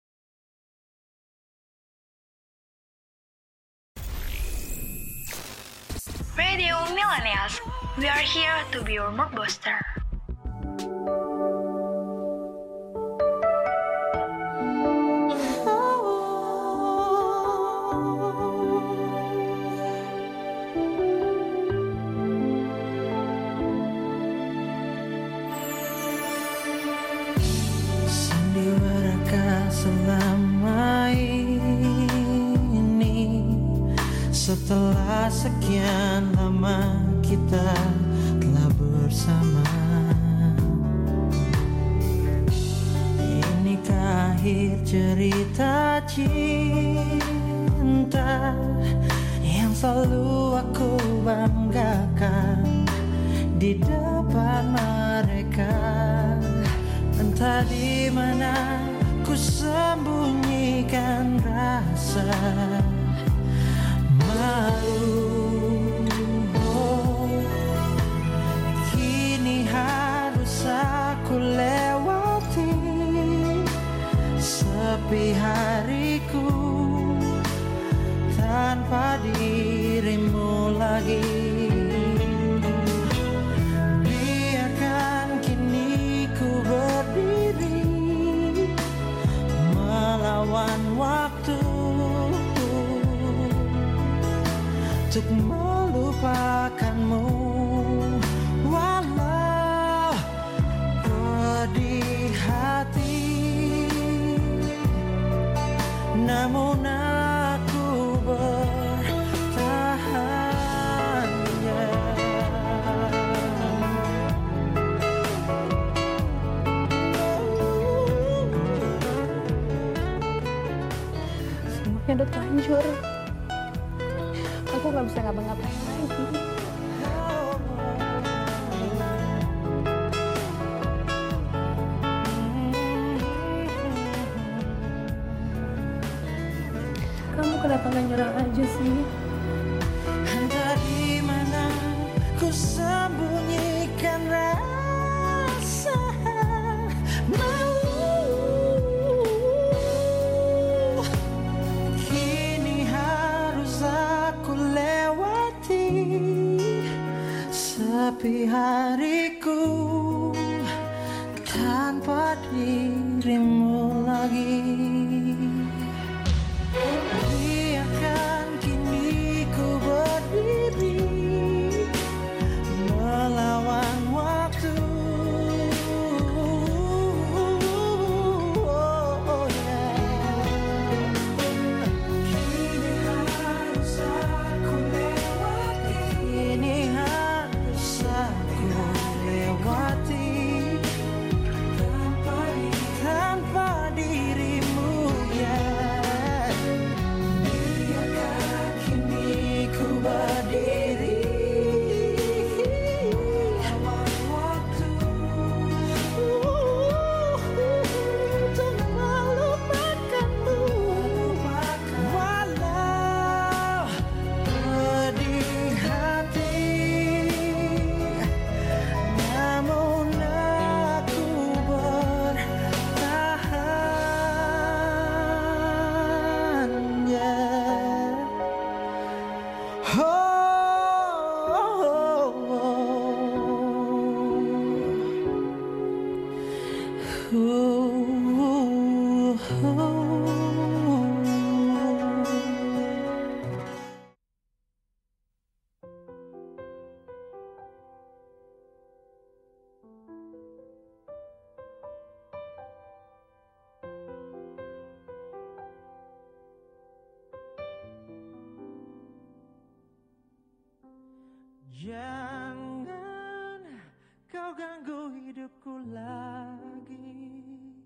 Radio Millennials, we are here to be your mood booster. Selama ini, setelah sekian lama kita telah bersama, inikah akhir cerita cinta yang selalu aku banggakan di depan mereka. Entah di mana ku sembunyikan rasa malu. Oh, kini harus aku lewati sepi hariku tanpa dirimu lagi. Biarkan kini ku berdiri melawan waktu untuk melupakanmu, walau pedih hati, namun aku bertahan. Semuanya udah terlanjur. Aku gak bisa ngapa-ngapain lagi. kenapa gak nyerah aja sih? Entah di mana ku sembunyikan rasa malu. Kini harus aku lewati sepi hariku tanpa dirimu lagi. Biarkan kini ku berdiri melawan waktu. Oh, yeah. Kini harus aku lewati. Kini harus aku lewati tanpa tanpa dirimu, ya. Biarkan kini ku berdiri melawan waktu untuk melupakanmu, walau pedih hati, namun aku bertahan, yeah. Oh, oh, oh, oh, oh. Jangan kau ganggu hidupku lagi.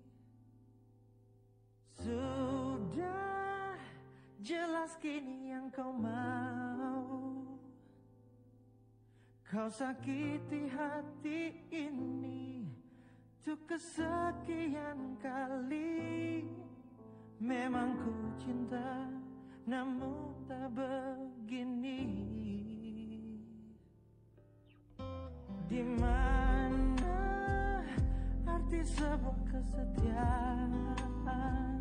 Sudah jelas kini yang kau mau. Kau sakiti hati ini untuk kesekian kali. Memang ku cinta, namun tak begini. Di mana arti sebuah kesetiaan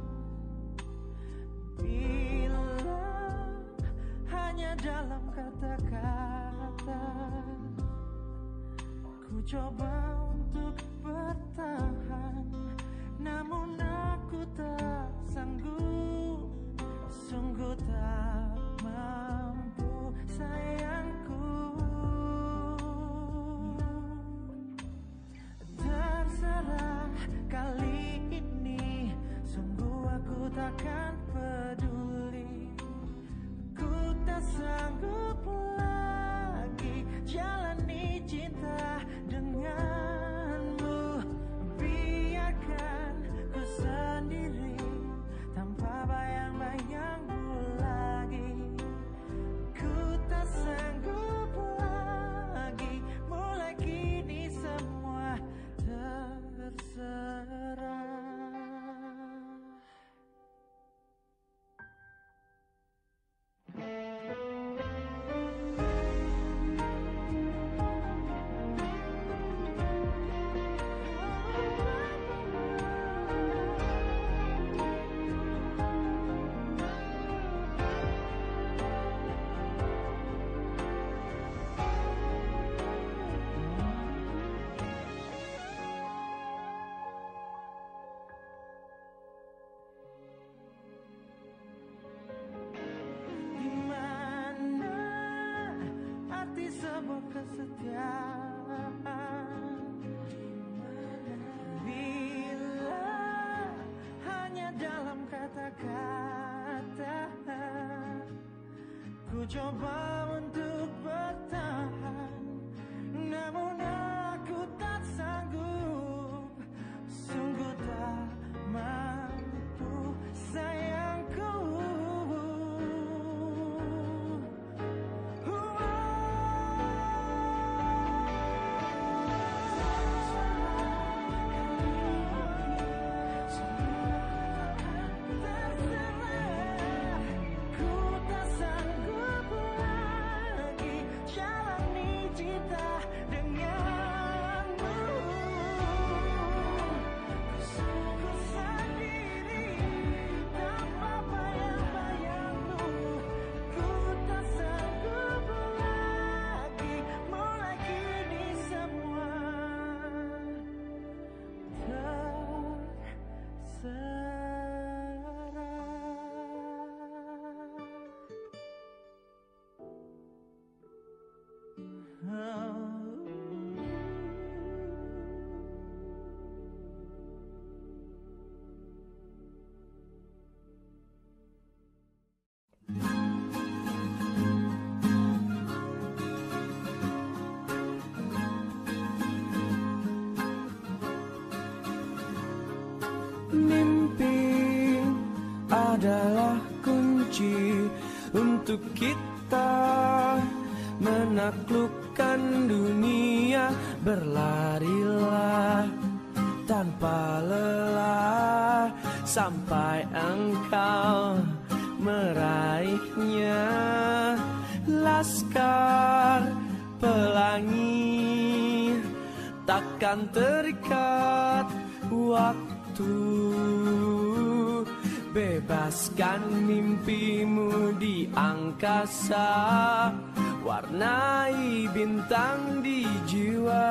bila hanya dalam kata-kata? Ku coba untuk bertahan, namun aku tak sanggup, sungguh tak mampu, sayangku. Terserah kali ini, sungguh aku takkan peduli. Ku tak sanggup lagi jalani cinta denganmu. Biarkan ku sendiri tanpa bayang-bayangmu lagi. Ku tak sanggup lagi, mulai kini semua terserah. Sebuah kesetiaan bila hanya dalam kata-kata. Ku coba untuk bertahan, namun aku tak sanggup, sungguh tak mampu, sayangku. adalah kunci untuk kita menaklukkan dunia. Berlarilah tanpa lelah sampai engkau meraihnya. Laskar Pelangi takkan terikat waktu. Bebaskan mimpimu di angkasa, warnai bintang di jiwa.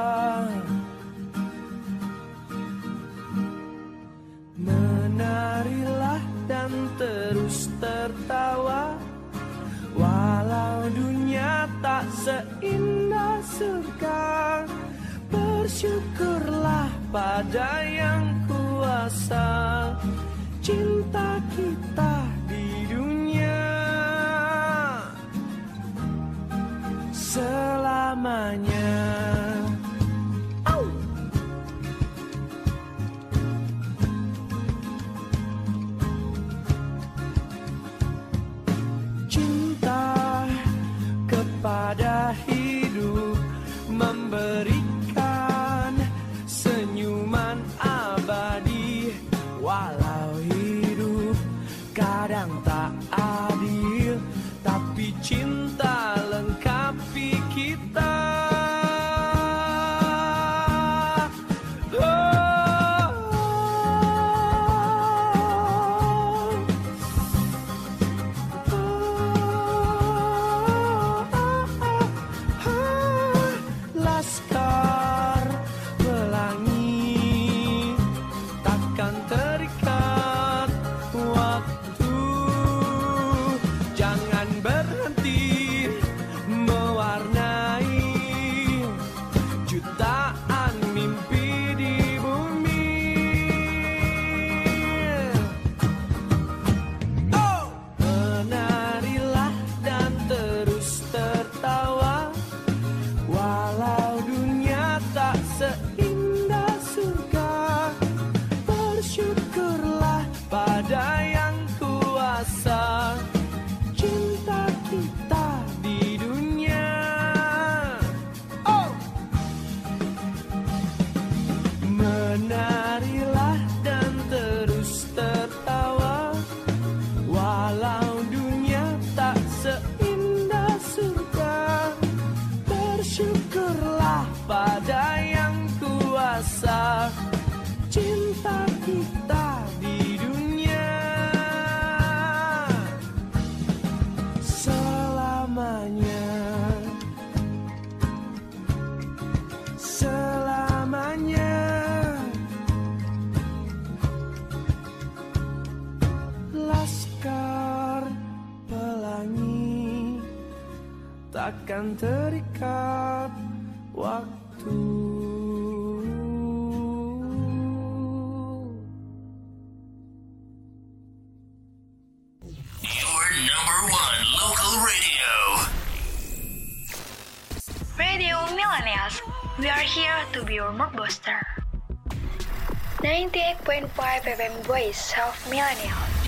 Menarilah dan terus tertawa, walau dunia tak seindah surga. Bersyukurlah pada yang kuasa, cinta kita di dunia selamanya. Au! Cinta kepada hidup memberikan senyuman abadi. Walau hidup kadang tak adil, tapi cinta lengkapi kita. Laskar Pelangi takkan terikat waktu. Jangan berhenti mewarnai jutaan mimpi di bumi. Oh! Menarilah dan terus tertawa, walau dunia tak seindah surga. Bersyukurlah pada yang kuasa, cinta kita di dunia. Oh! Menarilah dan terus tertawa, walau dunia tak seindah surga. Bersyukurlah pada yang kuasa, cinta kita di dunia selamanya. Selamanya. Laskar Pelangi takkan terikat waktu. Your number one local radio. Radio Millennials, we are here to be your mood booster. ninety-eight point five F M Voice of Millennials.